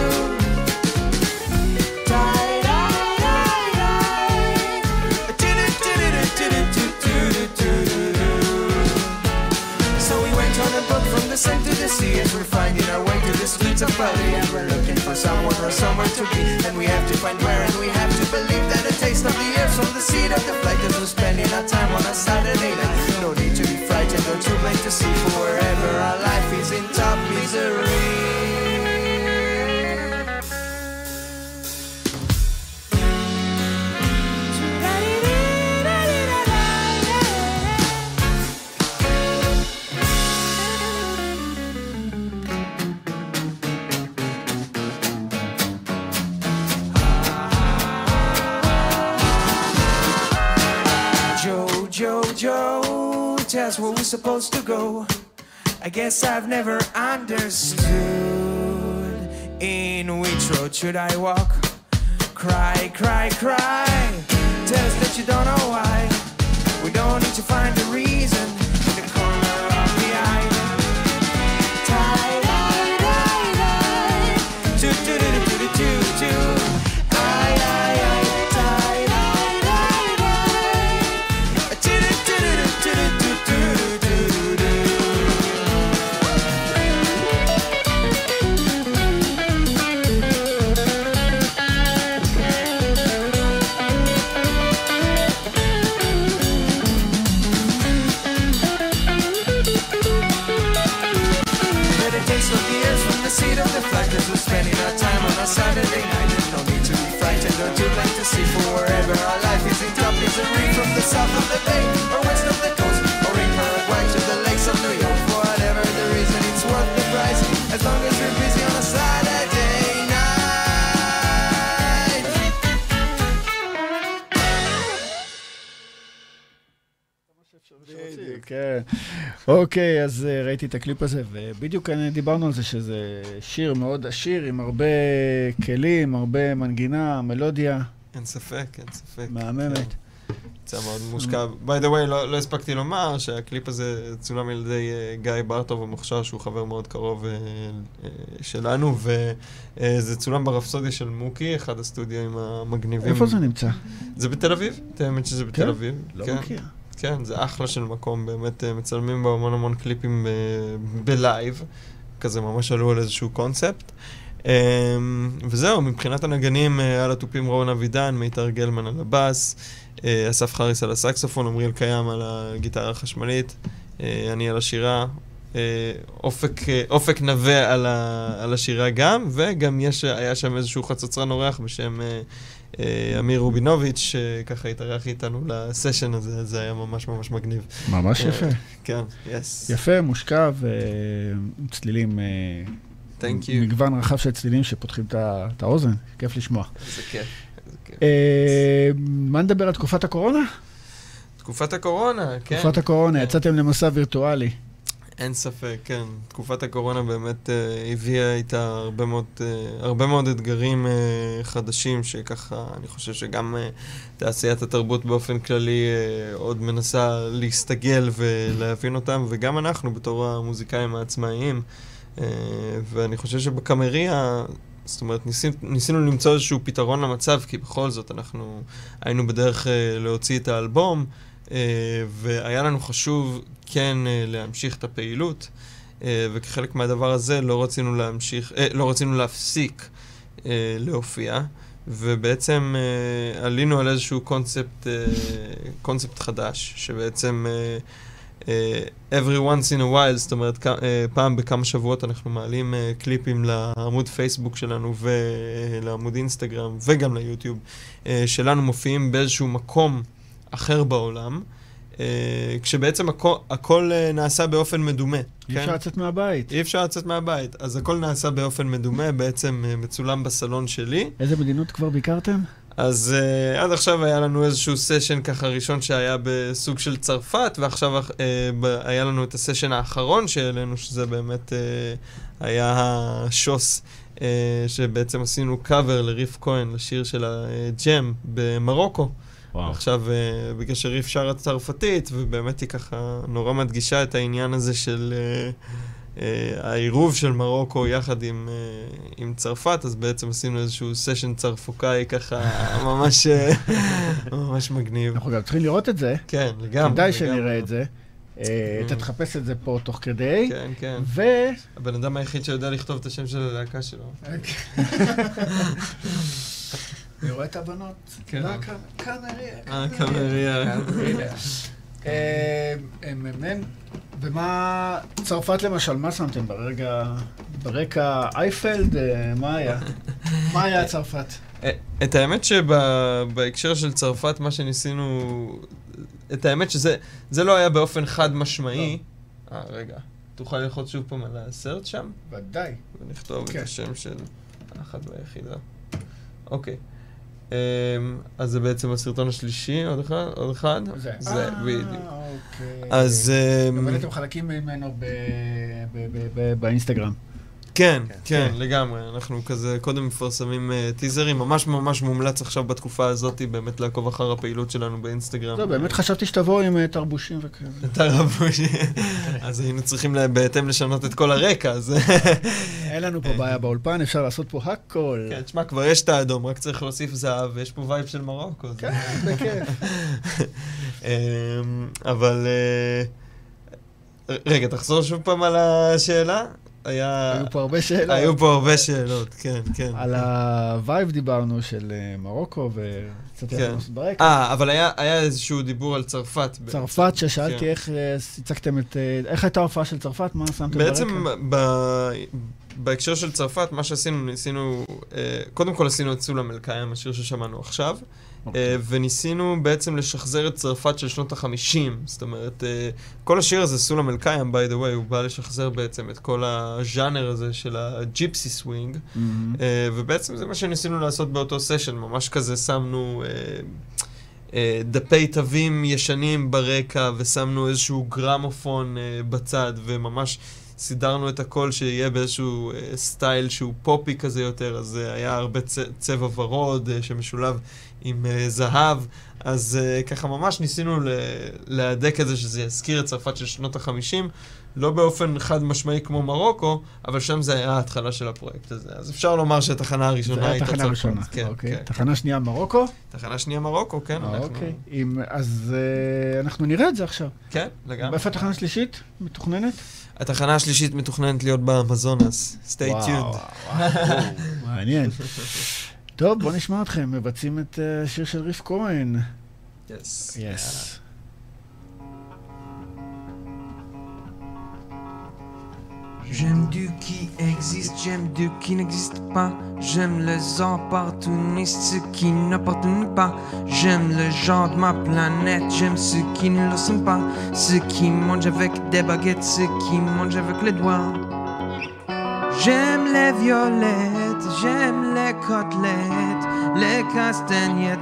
From the sun to the sea, as we're finding our way to the streets of Bali, and we're looking for someone or somewhere to be, and we have to find where, and we have to believe that a taste of the air from the seat of the flight, as we're spending our time on a Saturday night. No need to be frightened or too late to see, for wherever our life is in top misery. Joe, tell us where we're supposed to go. I guess I've never understood in which road should I walk. Cry. Tell us that you don't know why. We don't need to find a reason in the corner of the eye. Tie. Do. Spending our time on a Saturday night. There's no need to be frightened or too late to see, for wherever our life is in top misery, from the south of the bay or west of the coast, or in Paraguay to the lakes of New York. For whatever the reason, it's worth the price, as long as you're busy on a Saturday night. כן. אוקיי, אז ראיתי את הקליפ הזה, ובדיוק דיברנו על זה שזה שיר מאוד עשיר, עם הרבה כלים, הרבה מנגינה, מלודיה. אין ספק. מהממת. יצא מאוד מושקע. by the way, לא הספקתי לומר שהקליפ הזה צולם על ידי גיא ברטוב המוכשר, שהוא חבר מאוד קרוב שלנו, וזה צולם ברפסודיה של מוקי, אחד הסטודיו המגניבים. איפה זה נמצא? זה בתל אביב, תאמת שזה בתל אביב. לא מכיר. כן, זה אחלה של מקום, באמת מצלמים בה המון קליפים בלייב, כזה ממש עלו על איזשהו קונספט. וזהו, מבחינת הנגנים, על התופים רון אבידן, מיתר גלמן על הבאס, אסף חריס על הסקסופון, עמריאל קיים על הגיטרה החשמלית, אני על השירה, אופק נווה על השירה גם, וגם היה שם איזשהו חצוצרן אורח בשם אמיר רובינוביץ', שככה התארח איתנו לסשן הזה, זה היה ממש מגניב. ממש יפה. כן, יס. יפה, מושקע וצלילים, מגוון רחב של צלילים שפותחים את האוזן, כיף לשמוע. זה כיף. מה נדבר על תקופת הקורונה? תקופת הקורונה, כן. תקופת הקורונה, יצאתם למסע וירטואלי. אין ספק, כן. תקופת הקורונה באמת הביאה איתה הרבה מאוד אתגרים חדשים, שככה אני חושב שגם תעשיית התרבות באופן כללי עוד מנסה להסתגל ולהבין אותם, וגם אנחנו בתור המוזיקאים העצמאיים. ואני חושב שבקאמריה, זאת אומרת, ניסינו למצוא איזשהו פתרון למצב, כי בכל זאת אנחנו היינו בדרך להוציא את האלבום, והיה לנו חשוב כן להמשיך את הפעילות, וכחלק מהדבר הזה לא רצינו להפסיק להופיע, ובעצם עלינו על איזשהו קונספט חדש, שבעצם every once in a while, זאת אומרת, פעם בכמה שבועות אנחנו מעלים קליפים לעמוד פייסבוק שלנו ולעמוד אינסטגרם וגם ליוטיוב שלנו, מופיעים באיזשהו מקום אחר בעולם, כשבעצם הכל נעשה באופן מדומה. אי אפשר לצאת מהבית. אי אפשר לצאת מהבית, אז הכל נעשה באופן מדומה, בעצם מצולם בסלון שלי. איזה מדינות כבר ביקרתם? אז עד עכשיו היה לנו איזשהו סשן ככה ראשון שהיה בסוג של צרפת, ועכשיו היה לנו את הסשן האחרון שהעלינו, שזה באמת היה השוס, שבעצם עשינו קאבר לריף כהן, לשיר של הג'ם במרוקו. עכשיו, בגלל שריף שר הצרפתית, ובאמת היא ככה נורא מדגישה את העניין הזה של העירוב של מרוקו יחד עם צרפת, אז בעצם עשינו איזשהו סשן צרפוקאי ככה ממש מגניב. אנחנו גם צריכים לראות את זה. כן, לגמרי. כדאי שנראה את זה. אתה תחפש את זה פה תוך כדי. כן, כן. ו... הבן אדם היחיד שיודע לכתוב את השם של הלהקה שלו. אני רואה את הבנות. כן. קאמריה. ומה, צרפת למשל, מה שמתם ברקע אייפלד? מה היה? מה היה צרפת? את האמת שבהקשר של צרפת, מה שניסינו... את האמת שזה לא היה באופן חד משמעי. רגע, תוכל ללחוץ שוב פעם על הסרט שם? ודאי. ונכתוב את השם של האחד והיחידה. אוקיי. אז זה בעצם הסרטון השלישי, עוד אחד? זה, בדיוק. אוקיי. אז... אבל אתם חלקים ממנו באינסטגרם. כן, כן, לגמרי. אנחנו כזה קודם מפרסמים טיזרים, ממש ממש מומלץ עכשיו בתקופה הזאת באמת לעקוב אחר הפעילות שלנו באינסטגרם. לא, באמת חשבתי שתבואו עם תרבושים וכאלה. תרבושים. אז היינו צריכים בהתאם לשנות את כל הרקע, אז... אין לנו פה בעיה באולפן, אפשר לעשות פה הכל. כן, תשמע, כבר יש את האדום, רק צריך להוסיף זהב, ויש פה וייב של מרוקו. כן, בכיף. אבל... רגע, תחזור שוב פעם על השאלה. היו פה הרבה שאלות. היו פה הרבה שאלות, כן, כן. על הווייב דיברנו של מרוקו וקצת יחד ברקע. אבל היה איזשהו דיבור על צרפת. צרפת, ששאלתי איך הצגתם איך הייתה ההופעה של צרפת, מה שמתם ברקע? בעצם בהקשר של צרפת, מה שעשינו, ניסינו, קודם כל עשינו את סולם אל-קיים, השיר ששמענו עכשיו, וניסינו בעצם לשחזר את צרפת של שנות ה-50, זאת אומרת, כל השיר הזה, סולם אל-קיים, by the way, הוא בא לשחזר בעצם את כל הז'אנר הזה של הג'יפסי סווינג, ובעצם זה מה שניסינו לעשות באותו סשן, ממש כזה שמנו דפי תווים ישנים ברקע, ושמנו איזשהו גרמופון בצד, וממש סידרנו את הכל שיהיה באיזשהו סטייל שהוא פופי כזה יותר, אז היה הרבה צבע ורוד שמשולב עם זהב, אז ככה ממש ניסינו להדק את זה שזה יזכיר את צרפת של שנות ה-50, לא באופן חד משמעי כמו מרוקו, אבל שם זה היה ההתחלה של הפרויקט הזה. אז אפשר לומר שהתחנה הראשונה הייתה צרפת. זה היה תחנה ראשונה, כן, אוקיי. כן. תחנה שנייה מרוקו? תחנה שנייה מרוקו, כן. אוקיי. אז אנחנו נראה את זה עכשיו. כן, לגמרי. איפה התחנה השלישית מתוכננת? התחנה השלישית מתוכננת להיות באמזונס. Stay tuned. מעניין. טוב, בוא נשמע אתכם. מבצעים את השיר של ריף כהן. Yes. Yes. J'aime du qui existe, j'aime du qui n'existe pas. J'aime les opportunistes, ceux qui n'appartiennent pas. J'aime le genre de ma planète, j'aime ceux qui ne le sont pas. Ceux qui mangent avec des baguettes, ceux qui mangent avec les doigts. J'aime les violettes, j'aime les côtelettes, les castagnettes,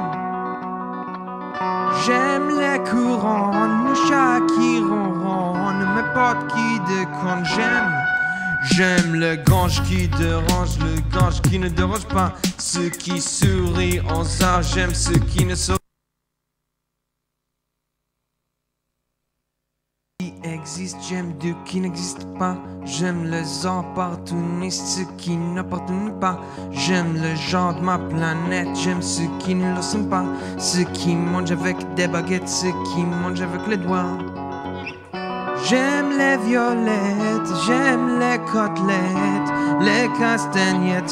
J'aime les couronnes, le chat qui ronronne, mes potes qui déconnent, J'aime le gange qui dérange, le gange qui ne dérange pas. Ceux qui sourient en ça, j'aime ceux qui ne sourient. Qui existe, j'aime Dieu qui n'existe pas. J'aime les opportunistes, ceux qui n'appartiennent pas. J'aime le genre de ma planète, j'aime ceux qui ne le sont pas. Ceux qui mangent avec des baguettes, ceux qui mangent avec les doigts. J'aime les violettes, j'aime les côtelettes, les castagnettes,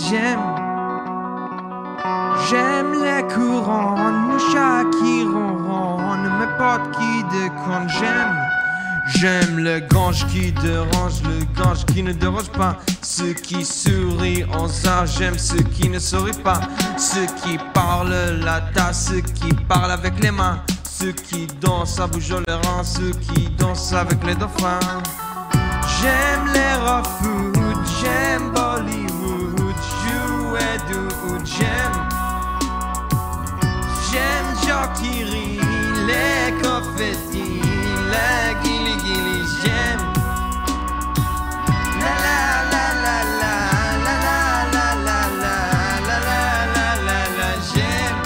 J'aime les couronnes, le chat qui ronronne, mes potes qui déconnent, J'aime le gange qui dérange, le gange qui ne dérange pas. Ceux qui sourient en ça, j'aime ceux qui ne sourient pas. Ceux qui parlent la tasse, ceux qui parlent avec les mains. Ceux qui dansent à bouger les reins, ceux qui dansent avec les dauphins. J'aime les raw food, j'aime Bollywood, jouer d'où J'aime Joe qui rit, les confettis, les guili, j'aime. La la la la la la la la la la la la la j'aime.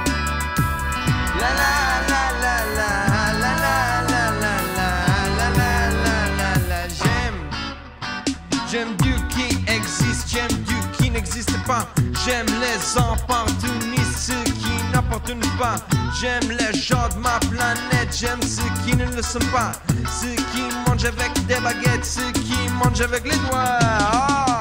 La la la la la la la la la la la j'aime. J'aime Dieu qui existe, j'aime Dieu qui n'existe pas. J'aime les opportunistes, ceux qui n'appartiennent pas. J'aime les gens de ma planète, j'aime ceux qui ne le sont pas. Ceux qui mangent avec des baguettes, ceux qui mangent avec les doigts. Oh.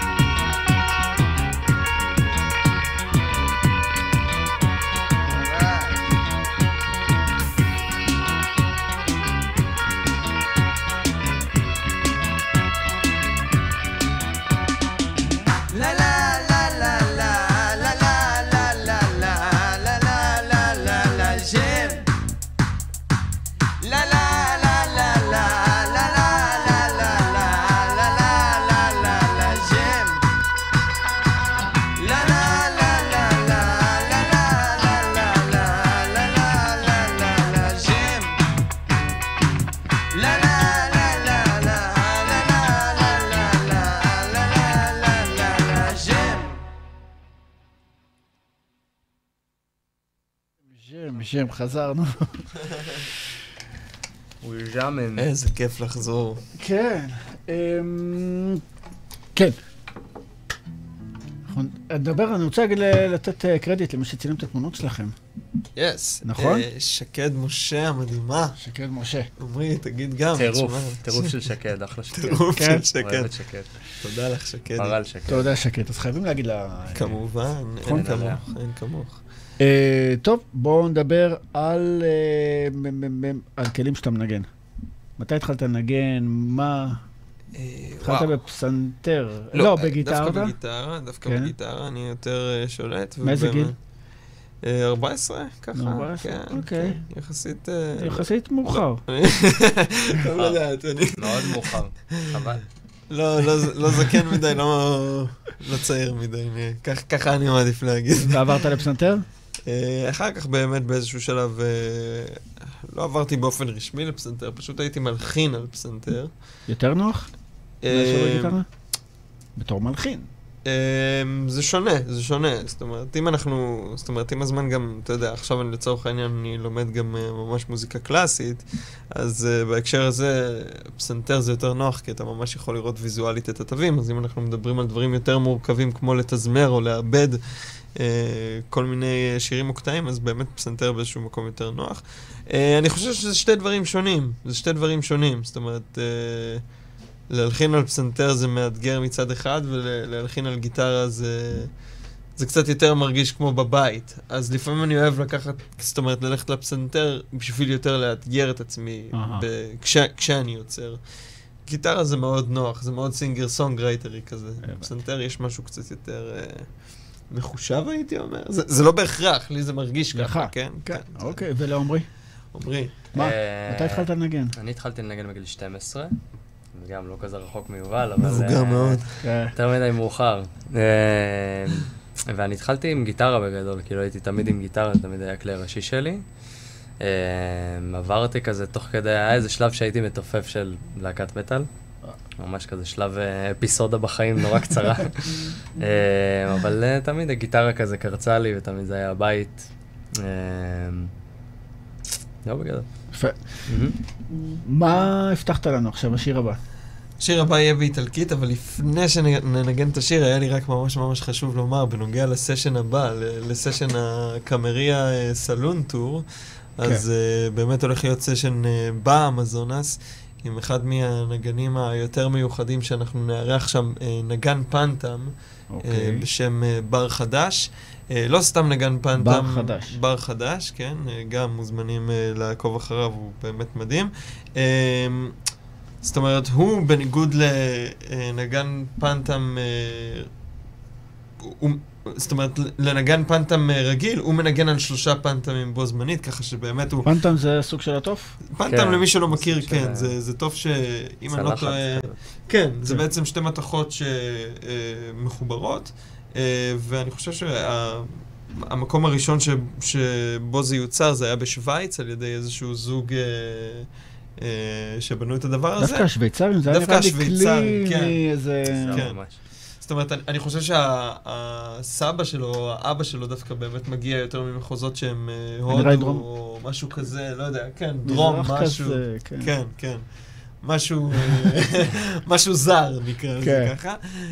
שם, חזרנו. הוא ז'אמן. איזה כיף לחזור. כן. כן. אני רוצה לתת קרדיט למי שצילם את התמונות שלכם. יס. נכון? שקד משה המדהימה. שקד משה. עמרי, תגיד גם. טירוף של שקד, אחלה שקד. טירוף של שקד. אוהבת שקד. תודה לך שקד. מרל שקד. תודה שקד, אז חייבים להגיד לה... כמובן, אין כמוך. טוב, בואו נדבר על כלים שאתה מנגן. מתי התחלת לנגן? מה? התחלת בפסנתר? לא, בגיטרה? דווקא בגיטרה, אני יותר שולט. מאיזה גיל? 14, ככה. 14, אוקיי. יחסית מאוחר. טוב לדעת, אני... מאוד מאוחר, חבל. לא זקן מדי, לא צעיר מדי, ככה אני מעדיף להגיד. ועברת לפסנתר? אחר כך באמת באיזשהו שלב לא עברתי באופן רשמי לפסנתר, פשוט הייתי מלחין על פסנתר. יותר נוח? מאשר בגיטרה? בתור מלחין. זה שונה. זאת אומרת, אם הזמן גם, אתה יודע, עכשיו אני לצורך העניין, אני לומד גם ממש מוזיקה קלאסית, אז בהקשר הזה, פסנתר זה יותר נוח, כי אתה ממש יכול לראות ויזואלית את התווים, אז אם אנחנו מדברים על דברים יותר מורכבים, כמו לתזמר או לאבד כל מיני שירים מוקטעים, אז באמת פסנתר באיזשהו מקום יותר נוח. אני חושב שזה שתי דברים שונים. זאת אומרת, להלחין על פסנתר זה מאתגר מצד אחד, ולהלחין על גיטרה זה קצת יותר מרגיש כמו בבית. אז לפעמים אני אוהב לקחת, זאת אומרת, ללכת לפסנתר בשביל יותר לאתגר את עצמי כשאני יוצר. גיטרה זה מאוד נוח, זה מאוד סינגר-סונג-רייטרי כזה. בפסנתר יש משהו קצת יותר מחושב, הייתי אומר. זה לא בהכרח, לי זה מרגיש ככה, כן? כן, אוקיי, ולעומרי? עומרי. מה? מתי התחלת לנגן? אני התחלתי לנגן בגיל 12. גם לא כזה רחוק מיובל, אבל... מבוגר מאוד. יותר מדי מאוחר. ואני התחלתי עם גיטרה בגדול, כאילו הייתי תמיד עם גיטרה, זה תמיד היה כלי ראשי שלי. עברתי כזה תוך כדי, היה איזה שלב שהייתי מתופף של להקת מטל. ממש כזה שלב אפיסודה בחיים נורא קצרה. אבל תמיד הגיטרה כזה קרצה לי, ותמיד זה היה הבית. לא בגדול. יפה. מה הבטחת לנו עכשיו, השיר הבא? השיר הבא יהיה באיטלקית, אבל לפני שננגן את השיר, היה לי רק ממש ממש חשוב לומר, בנוגע לסשן הבא, לסשן הקאמריה סלון טור, אז באמת הולך להיות סשן באמזונס, עם אחד מהנגנים היותר מיוחדים שאנחנו נארח שם, נגן פנטם, בשם בר חדש. לא סתם נגן פנטם, בר חדש. בר חדש, כן, גם מוזמנים לעקוב אחריו, הוא באמת מדהים. זאת אומרת, הוא בניגוד לנגן פנטם, זאת אומרת, לנגן פנטם רגיל, הוא מנגן על 3 פנטמים בו זמנית, ככה שבאמת הוא... פנטם זה סוג של הטוף? פנטם, למי שלא מכיר, כן, זה טוב שאם אני לא טועה... כן, זה בעצם 2 מתכות שמחוברות, ואני חושב שהמקום הראשון שבו זה יוצר, זה היה בשוויץ, על ידי איזשהו זוג... שבנו את הדבר הזה. דווקא השוויצרים, זה היה נראה לי כלי מאיזה... כן. זאת אומרת, אני חושב שהסבא שלו, האבא שלו דווקא באמת מגיע יותר ממחוזות שהם הודו או משהו כזה, לא יודע, כן, דרום, משהו. כן, כן. משהו זר, נקרא לזה ככה.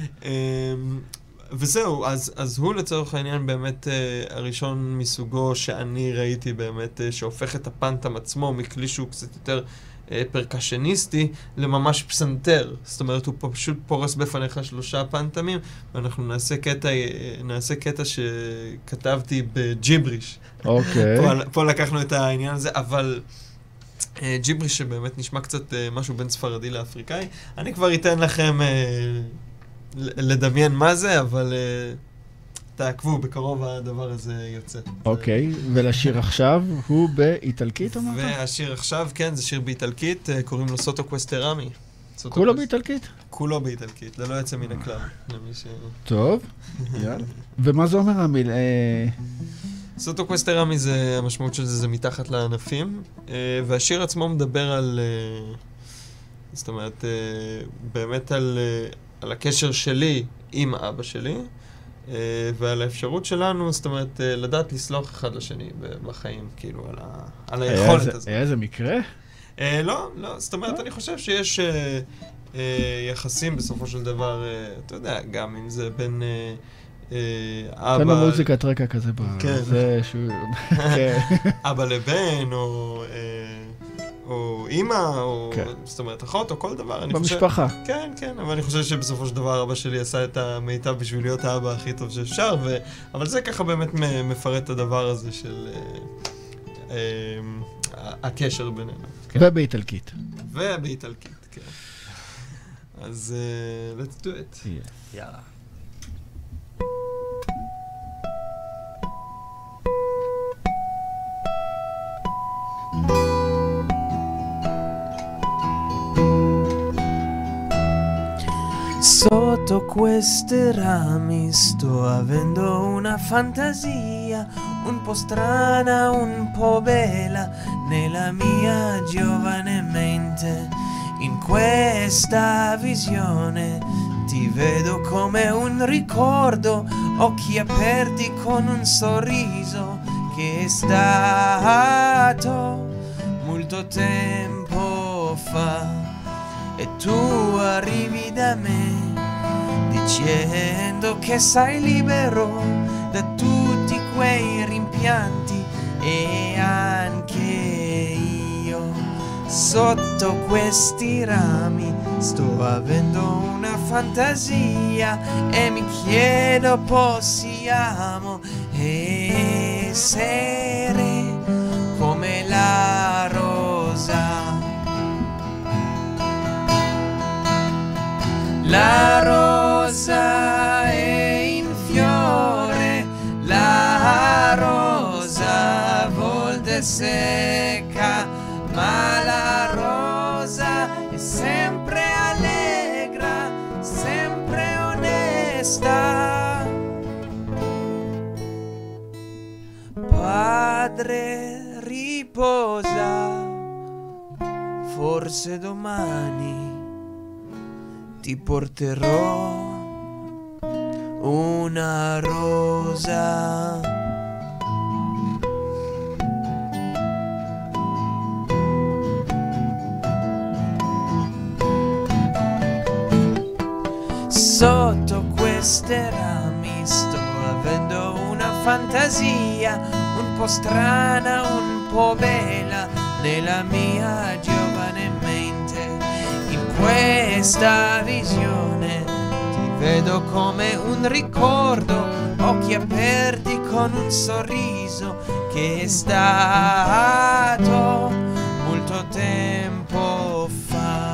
וזהו, אז הוא לצורך העניין באמת הראשון מסוגו שאני ראיתי באמת, שהופך את הפנטם עצמו מכלי שהוא קצת יותר פרקשניסטי לממש פסנתר. זאת אומרת, הוא פשוט פורס בפניך 3 פנטמים, ואנחנו נעשה קטע שכתבתי בג'יבריש. אוקיי. פה לקחנו את העניין הזה, אבל... ג'יבריש שבאמת נשמע קצת משהו בין ספרדי לאפריקאי. אני כבר אתן לכם לדמיין מה זה, אבל תעקבו, בקרוב הדבר הזה יוצא. אוקיי, ולשיר עכשיו הוא באיטלקית אמרת? והשיר עכשיו, כן, זה שיר באיטלקית, קוראים לו סוטו קווסטרמי. כולו באיטלקית? כולו באיטלקית, ללא יוצא מן הכלל. טוב, יאללה. ומה זה אומר המיל? סוטו קווסטרמי זה, המשמעות של זה מתחת לענפים, והשיר עצמו מדבר על, זאת אומרת, באמת על הקשר שלי עם אבא שלי, ועל האפשרות שלנו, זאת אומרת, לדעת לסלוח אחד לשני בחיים, כאילו, על היכולת הזאת. היה איזה מקרה? לא, זאת אומרת, אני חושב שיש יחסים בסופו של דבר, אתה יודע, גם אם זה בין... תן לו מוזיקת רקע כזה זה שהוא... אבא לבן, או אמא, או זאת אומרת אחות, או כל דבר. במשפחה. כן, כן, אבל אני חושב שבסופו של דבר אבא שלי עשה את המיטב בשביל להיות האבא הכי טוב שאפשר, אבל זה ככה באמת מפרט את הדבר הזה של הקשר בינינו. ובאיטלקית. ובאיטלקית, כן. אז let's do it. יאללה. Sotto queste rami sto avendo una fantasia un po' strana, un po' bella nella mia giovane mente. In questa visione ti vedo come un ricordo, occhi aperti con un sorriso che è stato molto tempo fa. E tu arrivi da me dicendo che sei libero da tutti quei rimpianti e anche io sotto questi rami sto avendo una fantasia e mi chiedo possiamo essere come la rosa. La rosa è in fiore, la rosa a volte secca, ma la rosa è sempre allegra, sempre onesta. Padre, riposa, forse domani ti porterò una rosa. sotto queste rami sto avendo una fantasia un po' strana, un po' bella nella mia giovane mente. In questa visione ti vedo come un ricordo, occhi aperti con un sorriso che è stato molto tempo fa.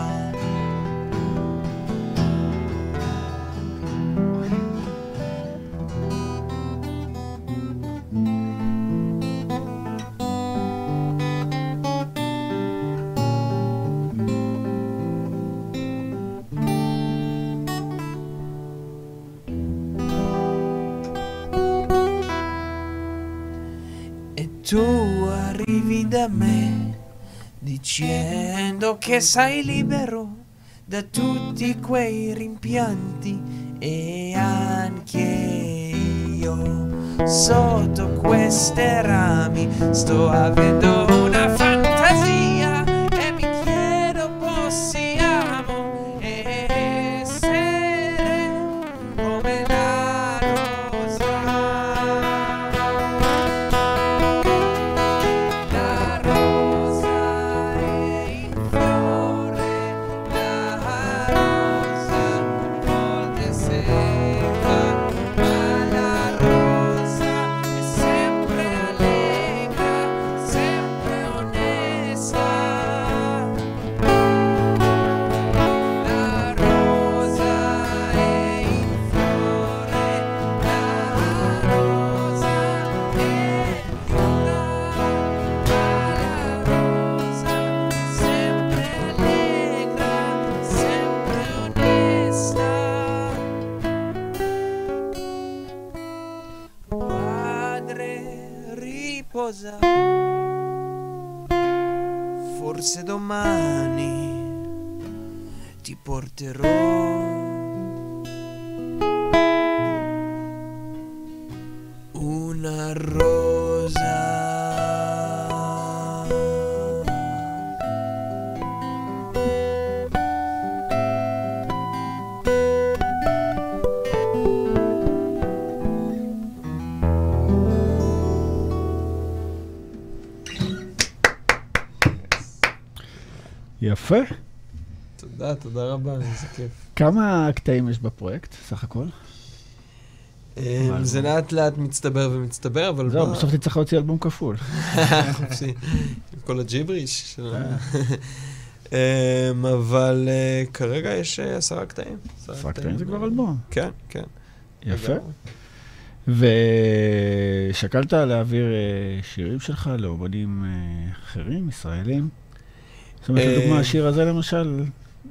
Tu arrivi da me dicendo che sei libero da tutti quei rimpianti e anche io sotto queste rami sto avendo una fantasia e mi chiedo possiamo essere come la rosa. Forse domani ti porterò una rosa. יפה. תודה, תודה רבה, זה כיף. כמה קטעים יש בפרויקט, סך הכל? זה לאט לאט מצטבר ומצטבר, אבל... זהו, בסוף תצטרך להוציא אלבום כפול. חופשי, עם כל הג'יבריש שלנו. אבל כרגע יש 10 קטעים. 10 קטעים זה כבר אלבום. כן, כן. יפה. ושקלת להעביר שירים שלך לאומנים אחרים, ישראלים? זאת אומרת, לדוגמה, השיר הזה למשל,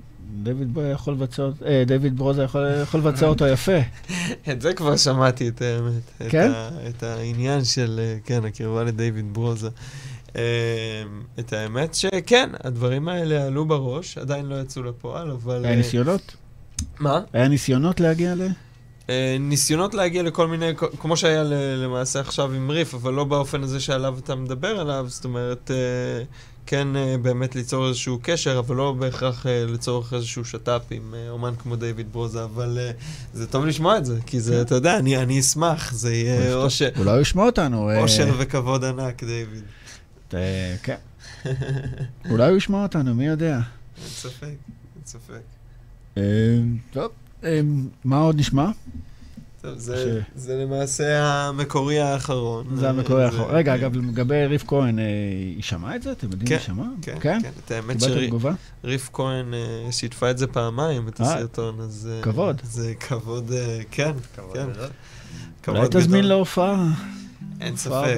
דויד ברוזה יכול לבצע אותו יפה. את זה כבר שמעתי את האמת. כן? את העניין של, כן, הקרבה לדויד ברוזה. את האמת שכן, הדברים האלה עלו בראש, עדיין לא יצאו לפועל, אבל... היה ניסיונות? מה? היה ניסיונות להגיע ל... ניסיונות להגיע לכל מיני, כמו שהיה למעשה עכשיו עם ריף, אבל לא באופן הזה שעליו אתה מדבר עליו, זאת אומרת, כן באמת ליצור איזשהו קשר, אבל לא בהכרח לצורך איזשהו שטאפ עם אומן כמו דויד ברוזה, אבל זה טוב לשמוע את זה, כי זה, אתה יודע, אני אשמח, זה יהיה אושר. אולי הוא ישמע אותנו. אושר וכבוד ענק, דויד. כן. אולי הוא ישמע אותנו, מי יודע. אין ספק, אין ספק. טוב, מה עוד נשמע? טוב, זה למעשה המקורי האחרון. זה המקורי האחרון. רגע, אגב, לגבי ריף כהן, היא שמעה את זה? אתם יודעים היא שמעה? כן, כן. את האמת שריף כהן שיתפה את זה פעמיים, את הסרטון, אז... כבוד. זה כבוד, כן, כן. אולי תזמין להופעה. אין ספק,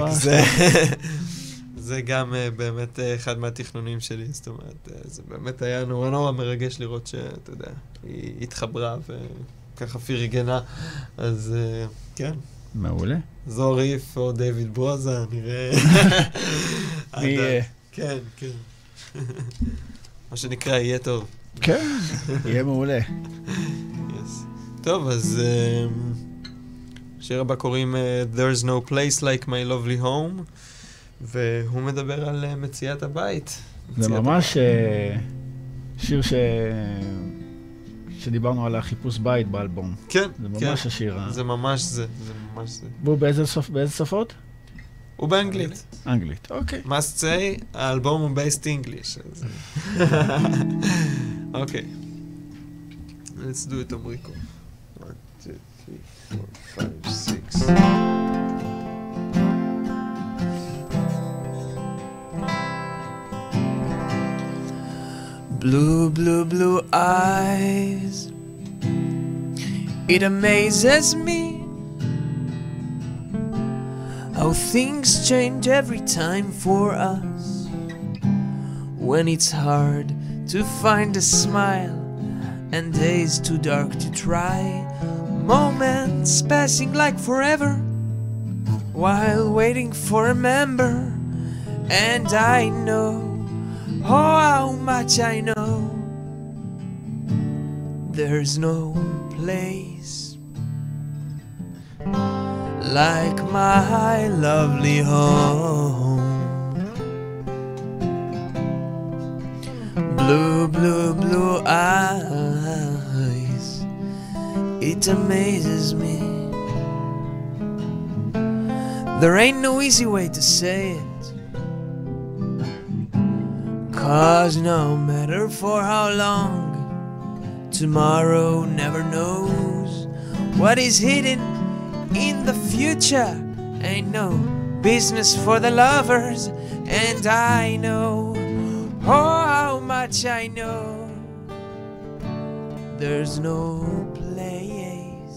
זה גם באמת אחד מהתכנונים שלי, זאת אומרת, זה באמת היה נורא נורא מרגש לראות שאתה יודע, היא התחברה וככה פרגנה, אז כן. מעולה. זו ריף או דויד ברוזה, נראה. מי יהיה? כן, כן. מה שנקרא, יהיה טוב. כן, יהיה מעולה. טוב, אז שיר הבא קוראים There's no place like my lovely home, והוא מדבר על מציאת הבית. זה ממש שיר שדיברנו על החיפוש בית באלבום. כן, זה ממש השיר. זה ממש זה, זה ממש זה. והוא באיזה שפות? הוא באנגלית. אנגלית, אוקיי. must say, האלבום הוא based English. אוקיי. Let's do it, אמריקו. 1, 2, 3, 4, 5, 6. Blue, blue, blue eyes. It amazes me how things change every time for us. When it's hard to find a smile and days too dark to try, moments passing like forever while waiting for a member. And I know, oh how much I know, there's no place like my lovely home. Blue, blue, blue eyes, it amazes me. There ain't no easy way to say it, 'cause no matter for how long, tomorrow never knows what is hidden in the future. Ain't no business for the lovers, and I know, oh how much I know, there's no place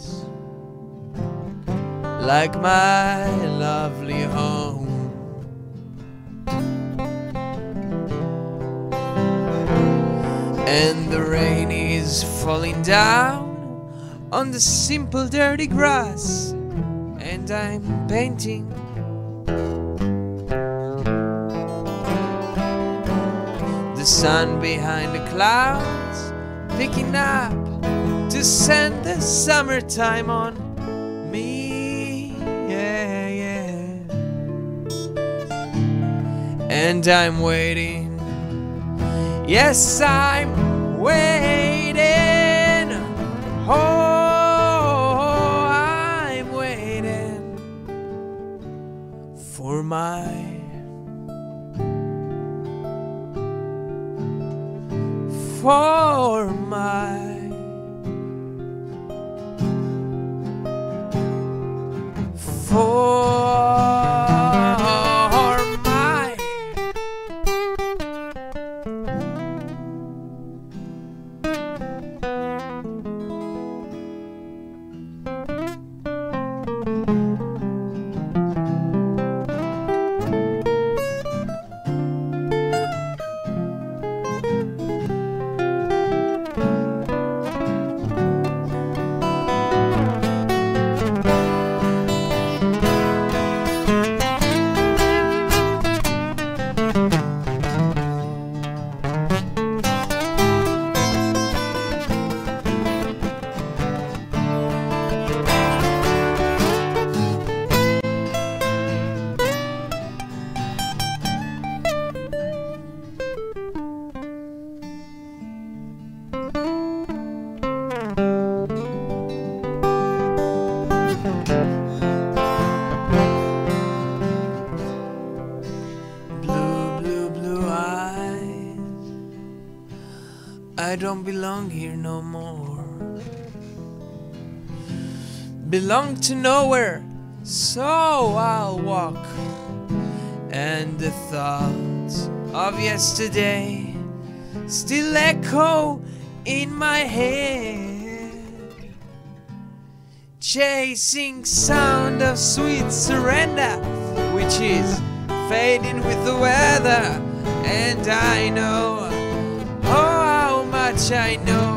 like my lovely home. And the rain is falling down on the simple dirty grass, and I'm painting the sun behind the clouds, picking up to send the summertime on me. Yeah, yeah. And I'm waiting, yes, I'm waiting. Oh, I'm waiting for my I don't belong here no more. Belong to nowhere, so I'll walk. And the thoughts of yesterday still echo in my head, chasing sound of sweet surrender, which is fading with the weather. And I know, oh how much I know,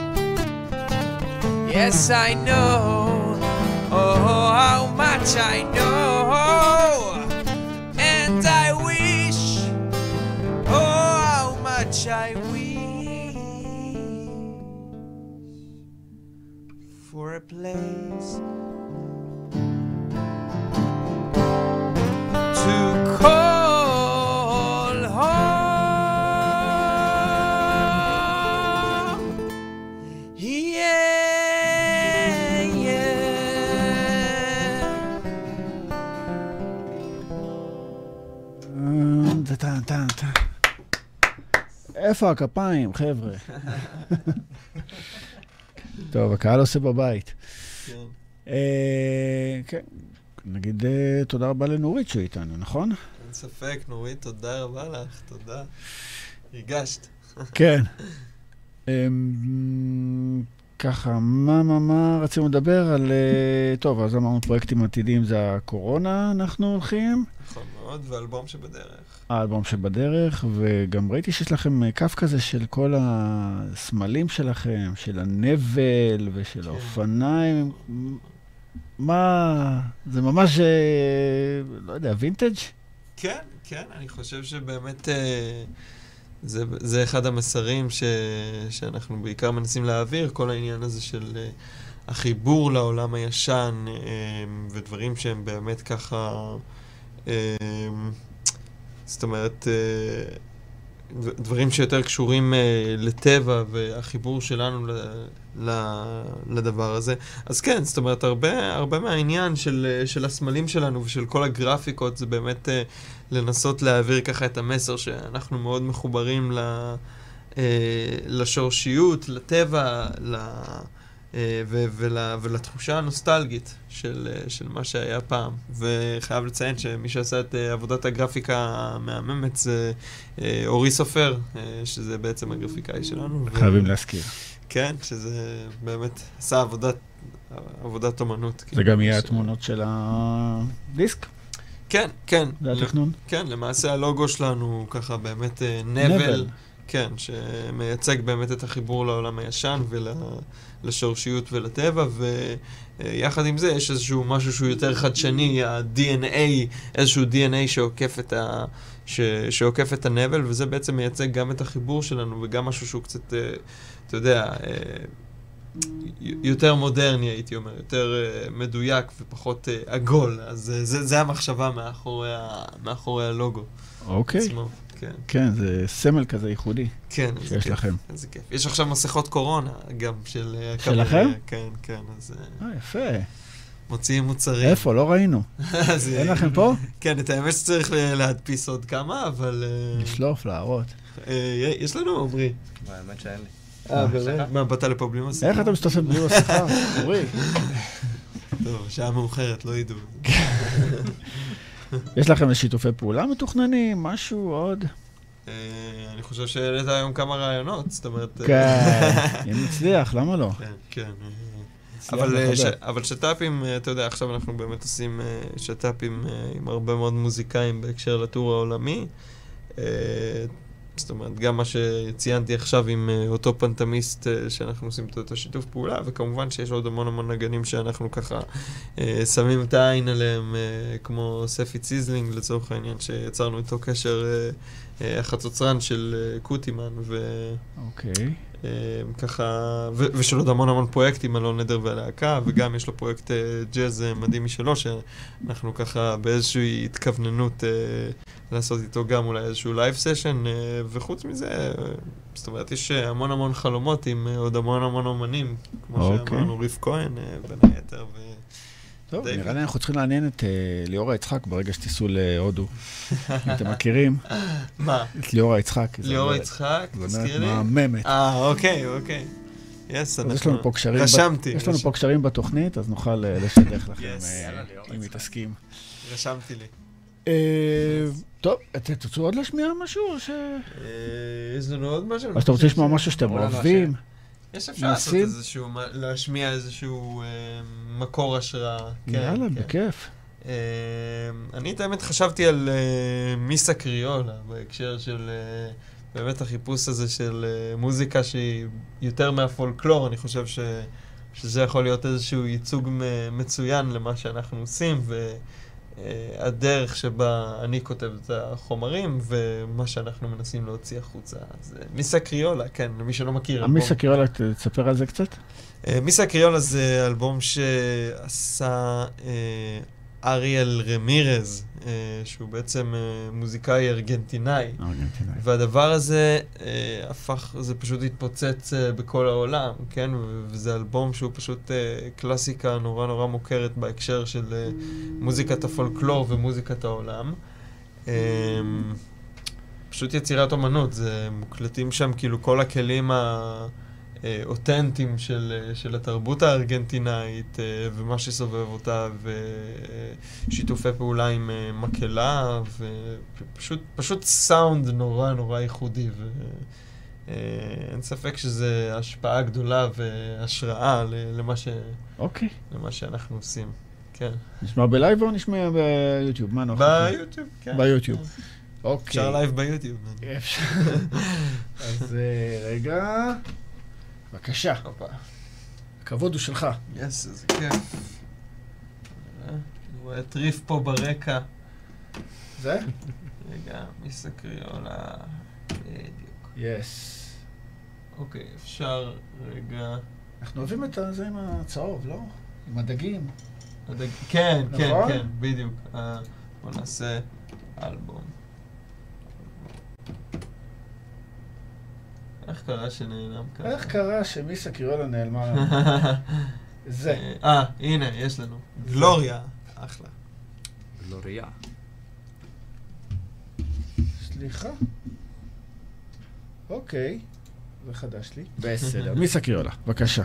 yes I know, oh how much I know. And I wish, oh how much I wish for a place to call home. איפה הכפיים, חבר'ה? טוב, הקהל עושה בבית. כן, נגיד תודה רבה לנורית שהוא איתנו, נכון? אין ספק, נורית, תודה רבה לך, תודה. הרגשת. כן. ככה, מה רצינו לדבר על... טוב, אז אמרנו פרויקטים עתידיים זה הקורונה, אנחנו הולכים. נכון מאוד, ואלבום שבדרך. האלבום שבדרך, וגם ראיתי שיש לכם כף כזה של כל הסמלים שלכם, של הנבל ושל האופניים. מה... זה ממש, לא יודע, וינטג'? כן, כן, אני חושב שבאמת... זה אחד המסרים שאנחנו בעיקר מנסים להעביר, כל העניין הזה של החיבור לעולם הישן, ודברים שהם באמת ככה, זאת אומרת, דברים שיותר קשורים לטבע והחיבור שלנו לדבר הזה. אז כן, זאת אומרת, הרבה מהעניין של הסמלים שלנו ושל כל הגרפיקות זה באמת לנסות להעביר ככה את המסר שאנחנו מאוד מחוברים לשורשיות, לטבע, ולתחושה הנוסטלגית של מה שהיה פעם. וחייב לציין שמי שעשה את עבודת הגרפיקה המהממת זה אורי סופר, שזה בעצם הגרפיקאי שלנו. חייבים להזכיר. כן, שזה באמת עשה עבודת אומנות. זה גם יהיה התמונות של הדיסק? כן, כן. זה התכנון? כן, למעשה הלוגו שלנו ככה באמת נבל. כן, שמייצג באמת את החיבור לעולם הישן ולשורשיות ולטבע, ויחד עם זה יש איזשהו משהו שהוא יותר חדשני, ה-DNA, איזשהו DNA שעוקף את הנבל, וזה בעצם מייצג גם את החיבור שלנו, וגם משהו שהוא קצת, אתה יודע, יותר מודרני, הייתי אומר, יותר מדויק ופחות עגול. אז זה המחשבה מאחורי הלוגו. אוקיי. עצמו. כן. כן, זה סמל כזה ייחודי. כן, שיש לכם. איזה כיף. יש עכשיו מסכות קורונה, גם שלכם? כן, כן. אז יפה. מוציאים מוצרים. איפה? לא ראינו. אין לכם פה? כן, את האמת שצריך להדפיס עוד כמה, אבל... לשלוף, להראות. יש לנו, עמרי. האמת שאין לי. באמת? מה, באת לפה בלי מסכה? איך אתה משתתף בלי מסכה? עמרי. טוב, שעה מאוחרת, לא ידעו. יש לכם שיתופי פעולה מתוכננים? משהו עוד? אני חושב שהעלית היום כמה רעיונות, זאת אומרת... כן, אם נצליח, למה לא? כן, כן. אבל שטאפים, אתה יודע, עכשיו אנחנו באמת עושים שטאפים עם הרבה מאוד מוזיקאים בהקשר לטור העולמי. זאת אומרת, גם מה שציינתי עכשיו עם אותו פנטמיסט שאנחנו עושים את השיתוף פעולה, וכמובן שיש עוד המון נגנים שאנחנו ככה שמים את העין עליהם, כמו ספי ציזלינג לצורך העניין, שיצרנו איתו קשר החצוצרן של קוטימן, אוקיי. ככה, ושל עוד המון פרויקטים, אלון נדר והלהקה, וגם יש לו פרויקט ג'אז מדהים משלו, שאנחנו ככה באיזושהי התכווננות לעשות איתו גם אולי איזשהו לייב סשן, וחוץ מזה, זאת אומרת, יש המון חלומות עם עוד המון אומנים, כמו שאמרנו, ריף כהן, בין היתר, טוב, נראה לי אנחנו צריכים לעניין את ליאורה יצחק ברגע שתיסעו להודו. אתם מכירים? מה? את ליאורה יצחק. ליאורה יצחק, תזכיר לי? מהממת. אוקיי. יש לנו פה קשרים בתוכנית, אז נוכל לשדך לכם אם מתעסקים. רשמתי לי. טוב, תרצו עוד להשמיע משהו? יש לנו עוד משהו? אז אתה רוצה לשמוע משהו שאתם אוהבים? יש אפשר לעשות איזשהו, להשמיע איזשהו מקור השראה. יאללה, בכיף. אני את האמת חשבתי על מיסה קריולה, בהקשר של באמת החיפוש הזה של מוזיקה שהיא יותר מהפולקלור. אני חושב שזה יכול להיות איזשהו ייצוג מצוין למה שאנחנו עושים, והדרך שבה אני כותב את החומרים, ומה שאנחנו מנסים להוציא החוצה. אז מיסה קריולה, כן, למי שלא מכיר. מיסה קריולה, תספר על זה קצת? מיסה קריולה זה אלבום שעשה אריאל רמירז, שהוא בעצם מוזיקאי ארגנטינאי. והדבר הזה זה פשוט התפוצץ בכל העולם, כן? וזה אלבום שהוא פשוט קלאסיקה נורא מוכרת בהקשר של מוזיקת הפולקלור ומוזיקת העולם. פשוט יצירת אומנות, זה מוקלטים שם כאילו כל הכלים האותנטיים של התרבות הארגנטינאית ומה שסובב אותה, ושיתופי פעולה עם מקהלה, ופשוט סאונד נורא נורא ייחודי, ואין ספק שזה השפעה גדולה והשראה למה שאנחנו עושים. כן. נשמע בלייב או נשמע ביוטיוב? מה נוח? ביוטיוב, כן. ביוטיוב. אוקיי. אפשר לייב ביוטיוב. אפשר. אז רגע. בבקשה. הכבוד הוא שלך. יס, איזה כיף. אני רואה טריף פה ברקע. זה? רגע, מיסה קריולה. בדיוק. יס. אוקיי, אפשר רגע... אנחנו אוהבים את זה עם הצהוב, לא? עם הדגים. כן, כן, נכון? כן, בדיוק. בוא נעשה אלבום. איך קרה שנעלם כאן? איך קרה שמיסה קריולה נעלמה? זה. הנה, יש לנו. גלוריה. אחלה. גלוריה. סליחה. אוקיי. זה חדש לי. בסדר. מיסה קריולה, בבקשה.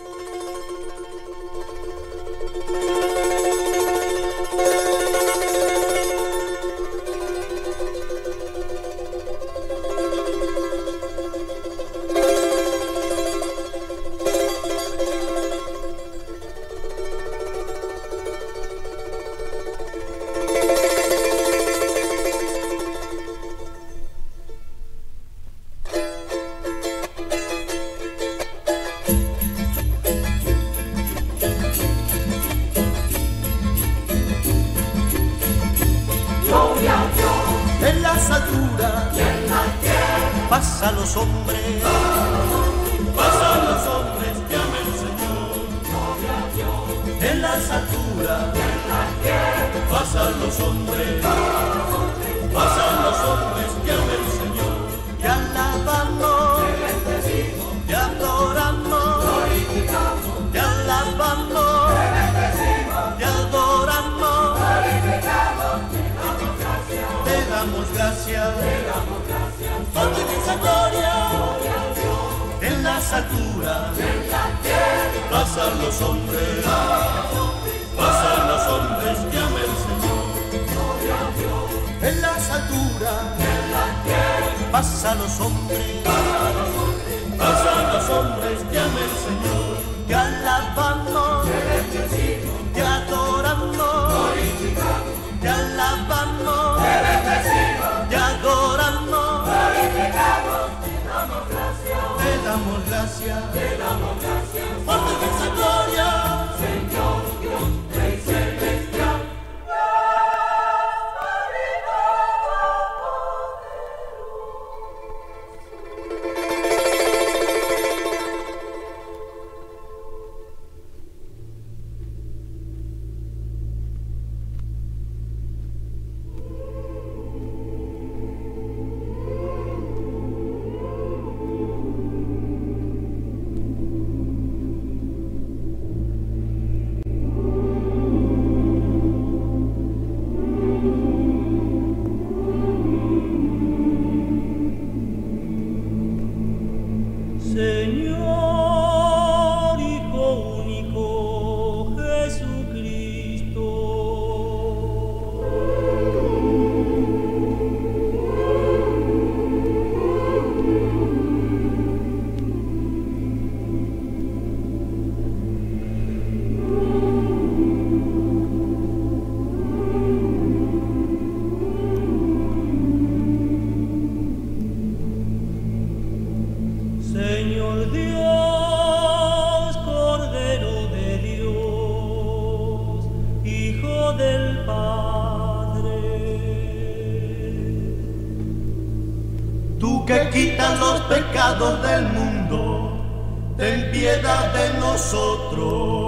Del mundo, ten piedad de nosotros.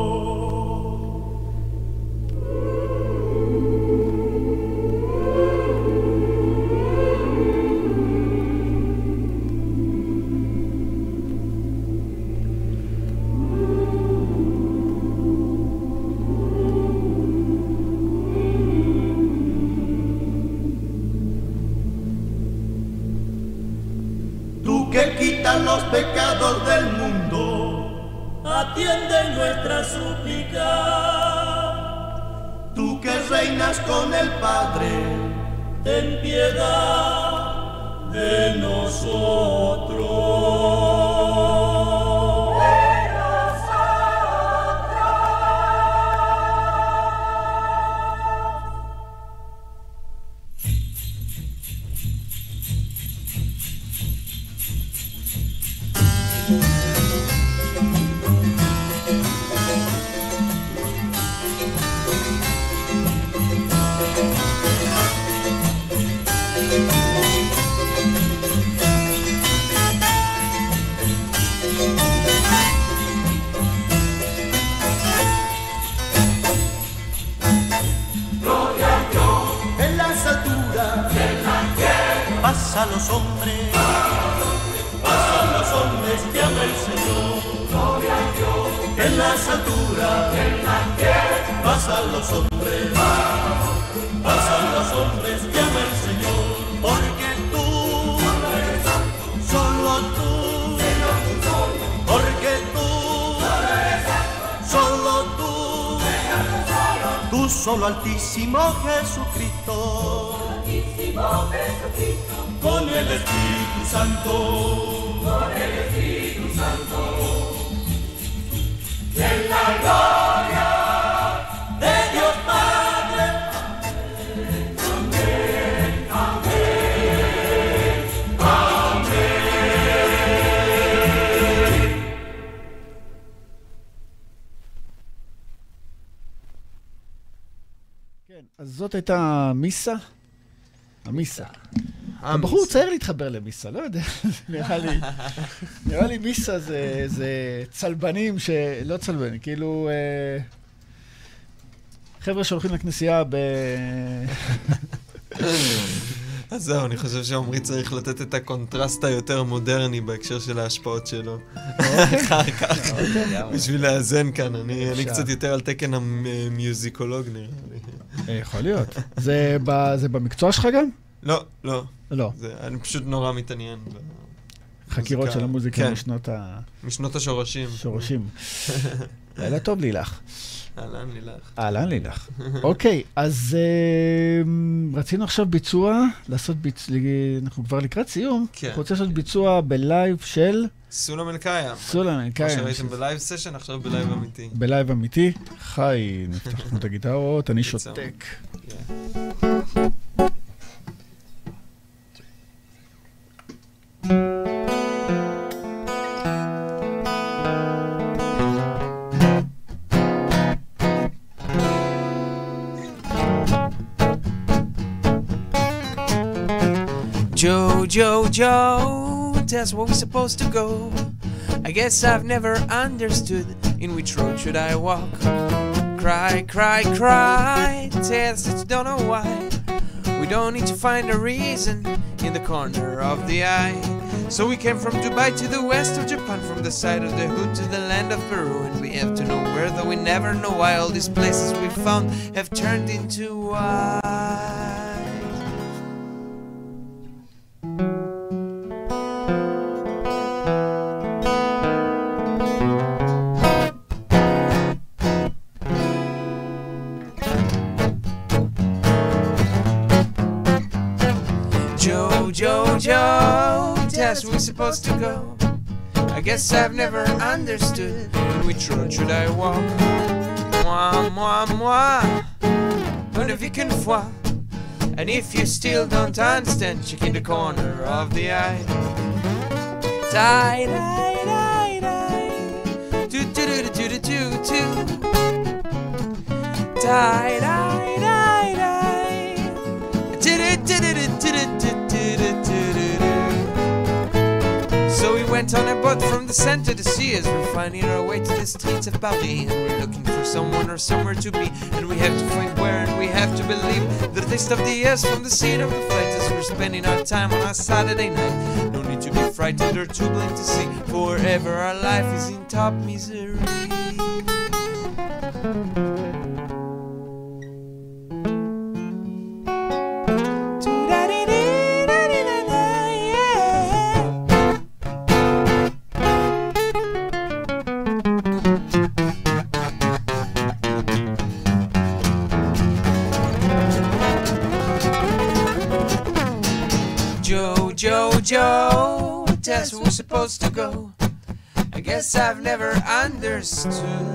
tú que quitas los pecados del mundo, atiende nuestra súplica. Tú que reinas con el Padre, ten piedad de nosotros. Pasa a los hombres, pasan los hombres que ama el Señor. En las alturas, pasan los hombres, pasan los hombres que ama el Señor. Porque tú, solo tú, porque tú, solo tú solo Altísimo Jesucristo. Con el Espíritu Santo, con el Espíritu Santo, en la gloria de Dios Padre. Amén, amén, amén. כן, אז זאת הייתה מיסה. המיסה. הבחור צעיר להתחבר למיסה, לא יודע, נראה לי מיסה זה צלבנים לא צלבנים, כאילו חבר'ה שהולכים לכנסייה אז זהו, אני חושב שעומרי צריך לתת את הקונטרסט היותר מודרני בהקשר של ההשפעות שלו. אחר כך, בשביל לאזן כאן, אני קצת יותר על תקן המיוזיקולוג נראה לי. יכול להיות. זה במקצוע שלך גם? לא, לא. לא. אני פשוט נורא מתעניין. חקירות של המוזיקה משנות השורשים. שורשים. לילה טוב לילך. אהלן לילך. אהלן לילך. אוקיי, אז רצינו עכשיו ביצוע, אנחנו כבר לקראת סיום. אנחנו רוצים לעשות ביצוע בלייב של... סולם אלקאיה. סולם אלקאיה. כמו שראיתם בלייב סשן, עכשיו בלייב אמיתי. בלייב אמיתי. חי, נפתח לנו את הגיטרות, אני שותק. Joe, tell us where we're supposed to go. I guess I've never understood in which road should I walk. Cry, cry, cry, tell us that you don't know why. We don't need to find a reason in the corner of the eye. So we came from Dubai to the west of Japan, from the side of the hood to the land of Peru, and we have to know where, though we never know why all these places we found have turned into why. Joe, tell us where we're supposed to go. I guess I've never understood which road should I walk. Moi, une vie qu'une fois. And if you still don't understand, check in the corner of the eye. Die, do do do do do do do. Die, do do do do do do. So we went on a boat from the center to sea as we're finding our way to the streets of Paris, and we're looking for someone or somewhere to be, and we have to find where, and we have to believe the taste of the years from the seat of the flight as we're spending our time on a Saturday night. No need to be frightened or too blind to see, forever our life is in top misery. tell us where we're supposed to go. I guess I've never understood.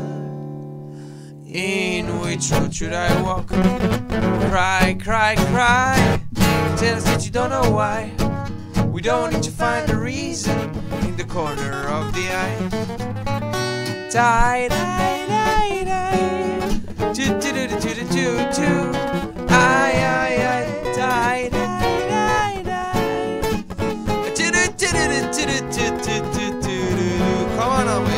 In which road should I walk? Cry, cry, cry. Tell us that you don't know why. We don't need to find a reason in the corner of the eye. Die, die, die, die. Do, do, do, do, do, do, do. Aye, aye, aye. Die, die, die, die. Do, do, do, do, do, do, do, do, do, do. Come on away.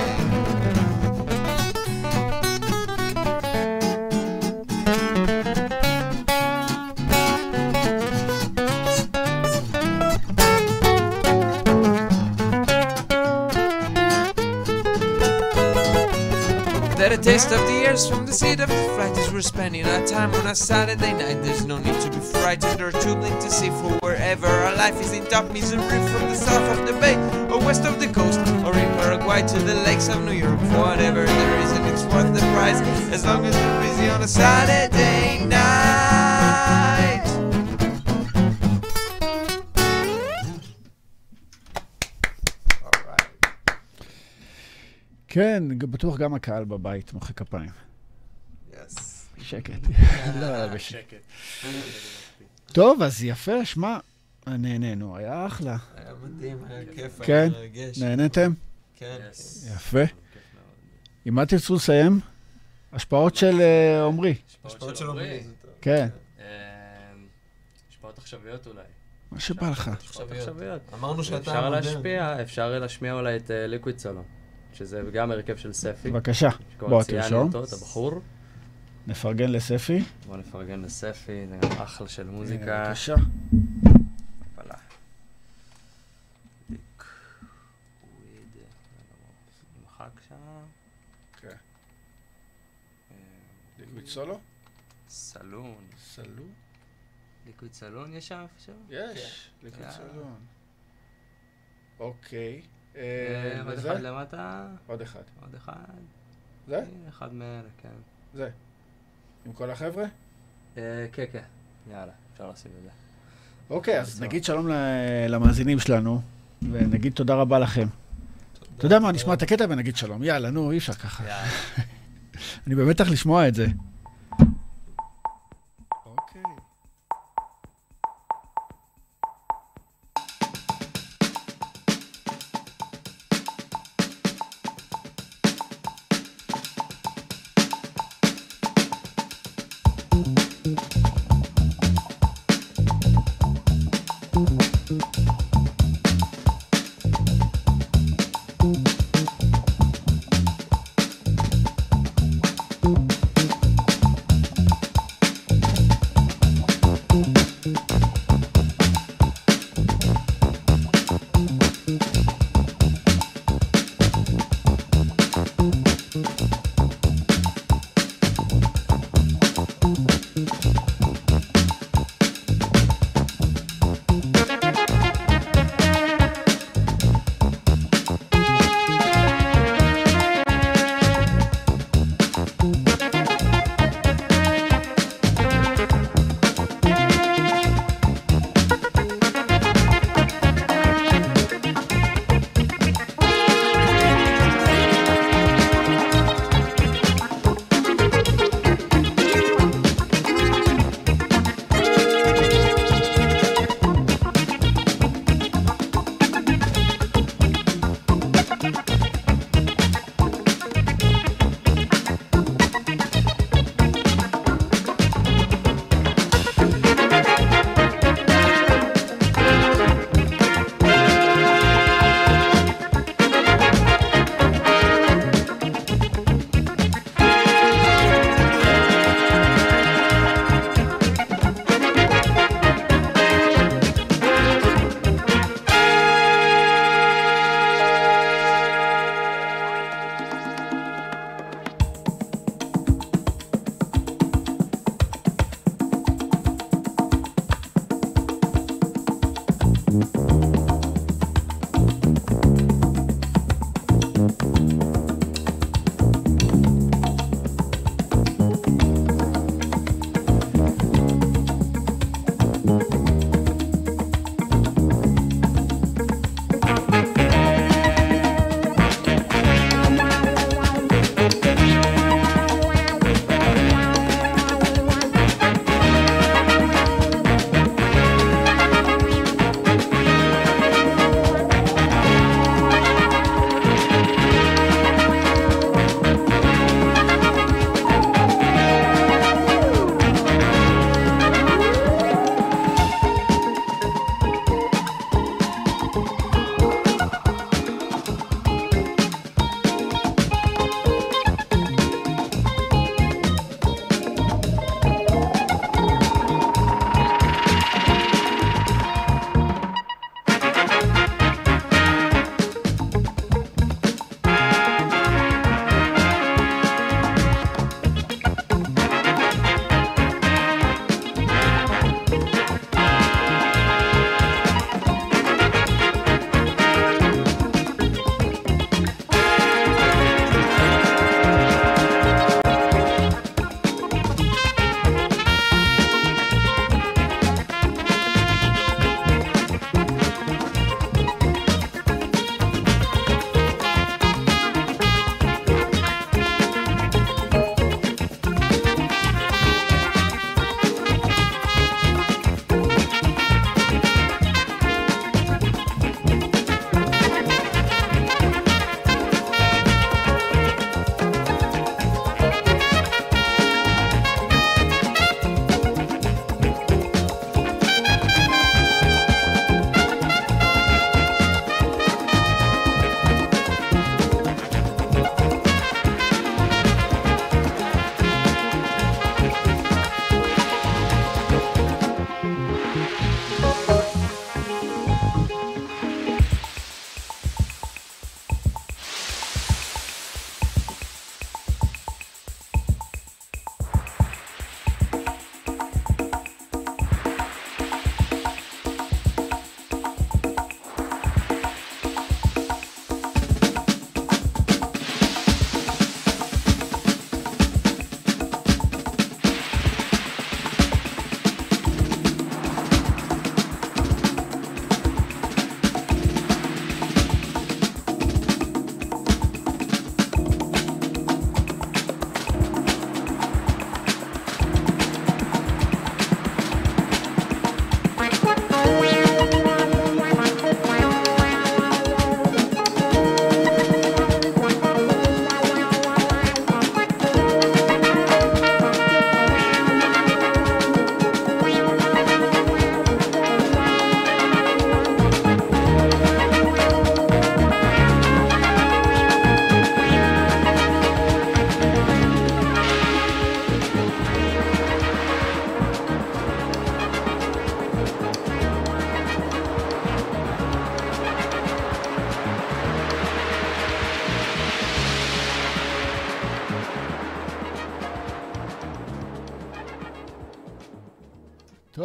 That a taste of the airs from the seat of the flight as we're spending our time on a Saturday night. There's no need to be frightened or too blind to see for wherever our life is in top misery, from the south of the bay or west of the coast, or in Paraguay to the lakes of New York. Whatever the reason, it's worth the price as long as we're busy on a Saturday night. כן, בטוח גם הקהל בבית מוחא כפיים. שקט. לא, בשקט. טוב, אז יפה, שמע, נהנינו, היה אחלה. היה מדהים, היה כיף, כן, היה מרגש. נהניתם? כן. יפה. עם מה תרצו לסיים? השפעות של עומרי. השפעות של עומרי. כן. השפעות עכשוויות אולי. מה שבא לך. עכשוויות. אמרנו שאתה אפשר להשפיע, אפשר להשמיע אולי את ליקוויד סולו, שזה גם הרכב של ספי. בבקשה, בוא תרשום. את הבחור. נפרגן לספי. בוא נפרגן לספי, זה גם אחלה של מוזיקה. בבקשה. פלה. ליקוויד. נמחק שם. כן. ליקוויד סולו? סלון. סלון? ליקוויד סלון יש שם איפה שם? יש, ליקוויד סלון. אוקיי. עוד אחד למטה. עוד אחד. עוד אחד. זה? אחד מאלה, כן. זה. עם כל החבר'ה? כן, כן. יאללה, אפשר לשים את זה. אוקיי, אז נגיד שלום למאזינים שלנו, ונגיד תודה רבה לכם. אתה יודע מה, נשמע את הקטע ונגיד שלום. יאללה, נו, אי אפשר ככה. אני במתח לשמוע את זה.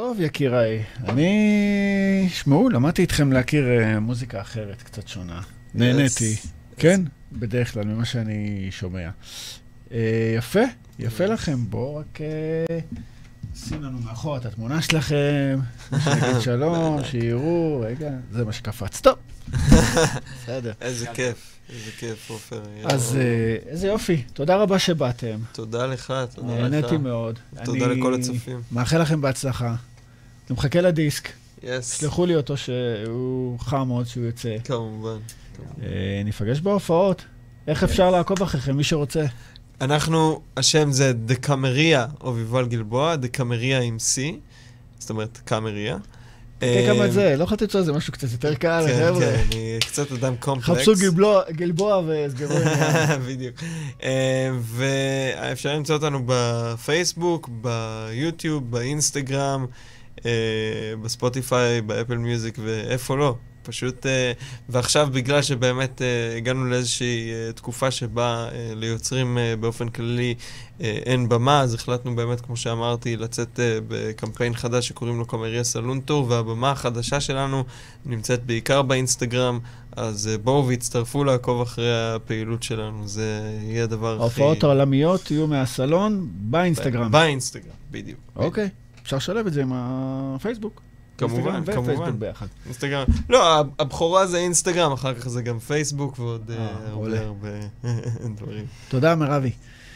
טוב, יקיריי. שמעו, למדתי איתכם להכיר מוזיקה אחרת, קצת שונה. נהניתי. כן? בדרך כלל, ממה שאני שומע. יפה, יפה לכם. בואו רק שים לנו מאחור את התמונה שלכם, שנגיד שלום, שיראו, רגע, זה מה שקפץ. טוב. בסדר. איזה כיף, איזה כיף, עופר. אז איזה יופי, תודה רבה שבאתם. תודה לך, תודה לך. נהניתי מאוד. תודה לכל הצופים. מאחל לכם בהצלחה. אני מחכה לדיסק. יס. שלחו לי אותו שהוא חם מאוד שהוא יוצא. כמובן. ניפגש בהופעות. איך אפשר לעקוב אחריכם, מי שרוצה? אנחנו, השם זה דקמריה, או ויבל גלבוע, דקמריה עם C, זאת אומרת, קמריה. תקה כמה את זה, לא יכולתי לצוע, זה משהו קצת יותר קל, חבר'ה. כן, אני קצת אדם קומפלקס. חפשו גלבוע וסגרו עניין. בדיוק. ואפשר למצוא אותנו בפייסבוק, ביוטיוב, באינסטגרם, בספוטיפיי, באפל מיוזיק ואיפה לא. פשוט, ועכשיו בגלל שבאמת הגענו לאיזושהי תקופה שבה ליוצרים באופן כללי אין במה, אז החלטנו באמת, כמו שאמרתי, לצאת בקמפיין חדש שקוראים לו קמריה סלון טור, והבמה החדשה שלנו נמצאת בעיקר באינסטגרם, אז בואו והצטרפו לעקוב אחרי הפעילות שלנו, זה יהיה הדבר הכי... ההופעות העולמיות יהיו מהסלון באינסטגרם. באינסטגרם, בדיוק. אוקיי, אפשר לשלב את זה עם הפייסבוק. כמובן, כמובן. ביחד. אינסטגרם. לא, הבכורה זה אינסטגרם, אחר כך זה גם פייסבוק ועוד הרבה דברים. תודה, מרבי.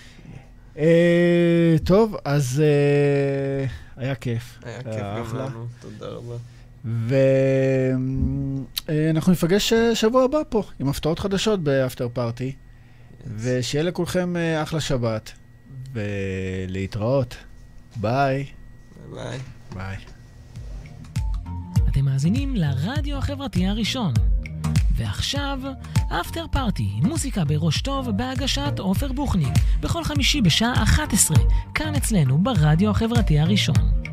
טוב, אז היה כיף. היה כיף גם לנו, תודה רבה. ואנחנו נפגש שבוע הבא פה, עם הפתעות חדשות באפטר פארטי, ושיהיה לכולכם אחלה שבת, ולהתראות. ביי. ביי. ביי. אתם מאזינים לרדיו החברתי הראשון. ועכשיו, אפטר פארטי, מוזיקה בראש טוב בהגשת עופר בוכניק, בכל חמישי בשעה 11, כאן אצלנו ברדיו החברתי הראשון.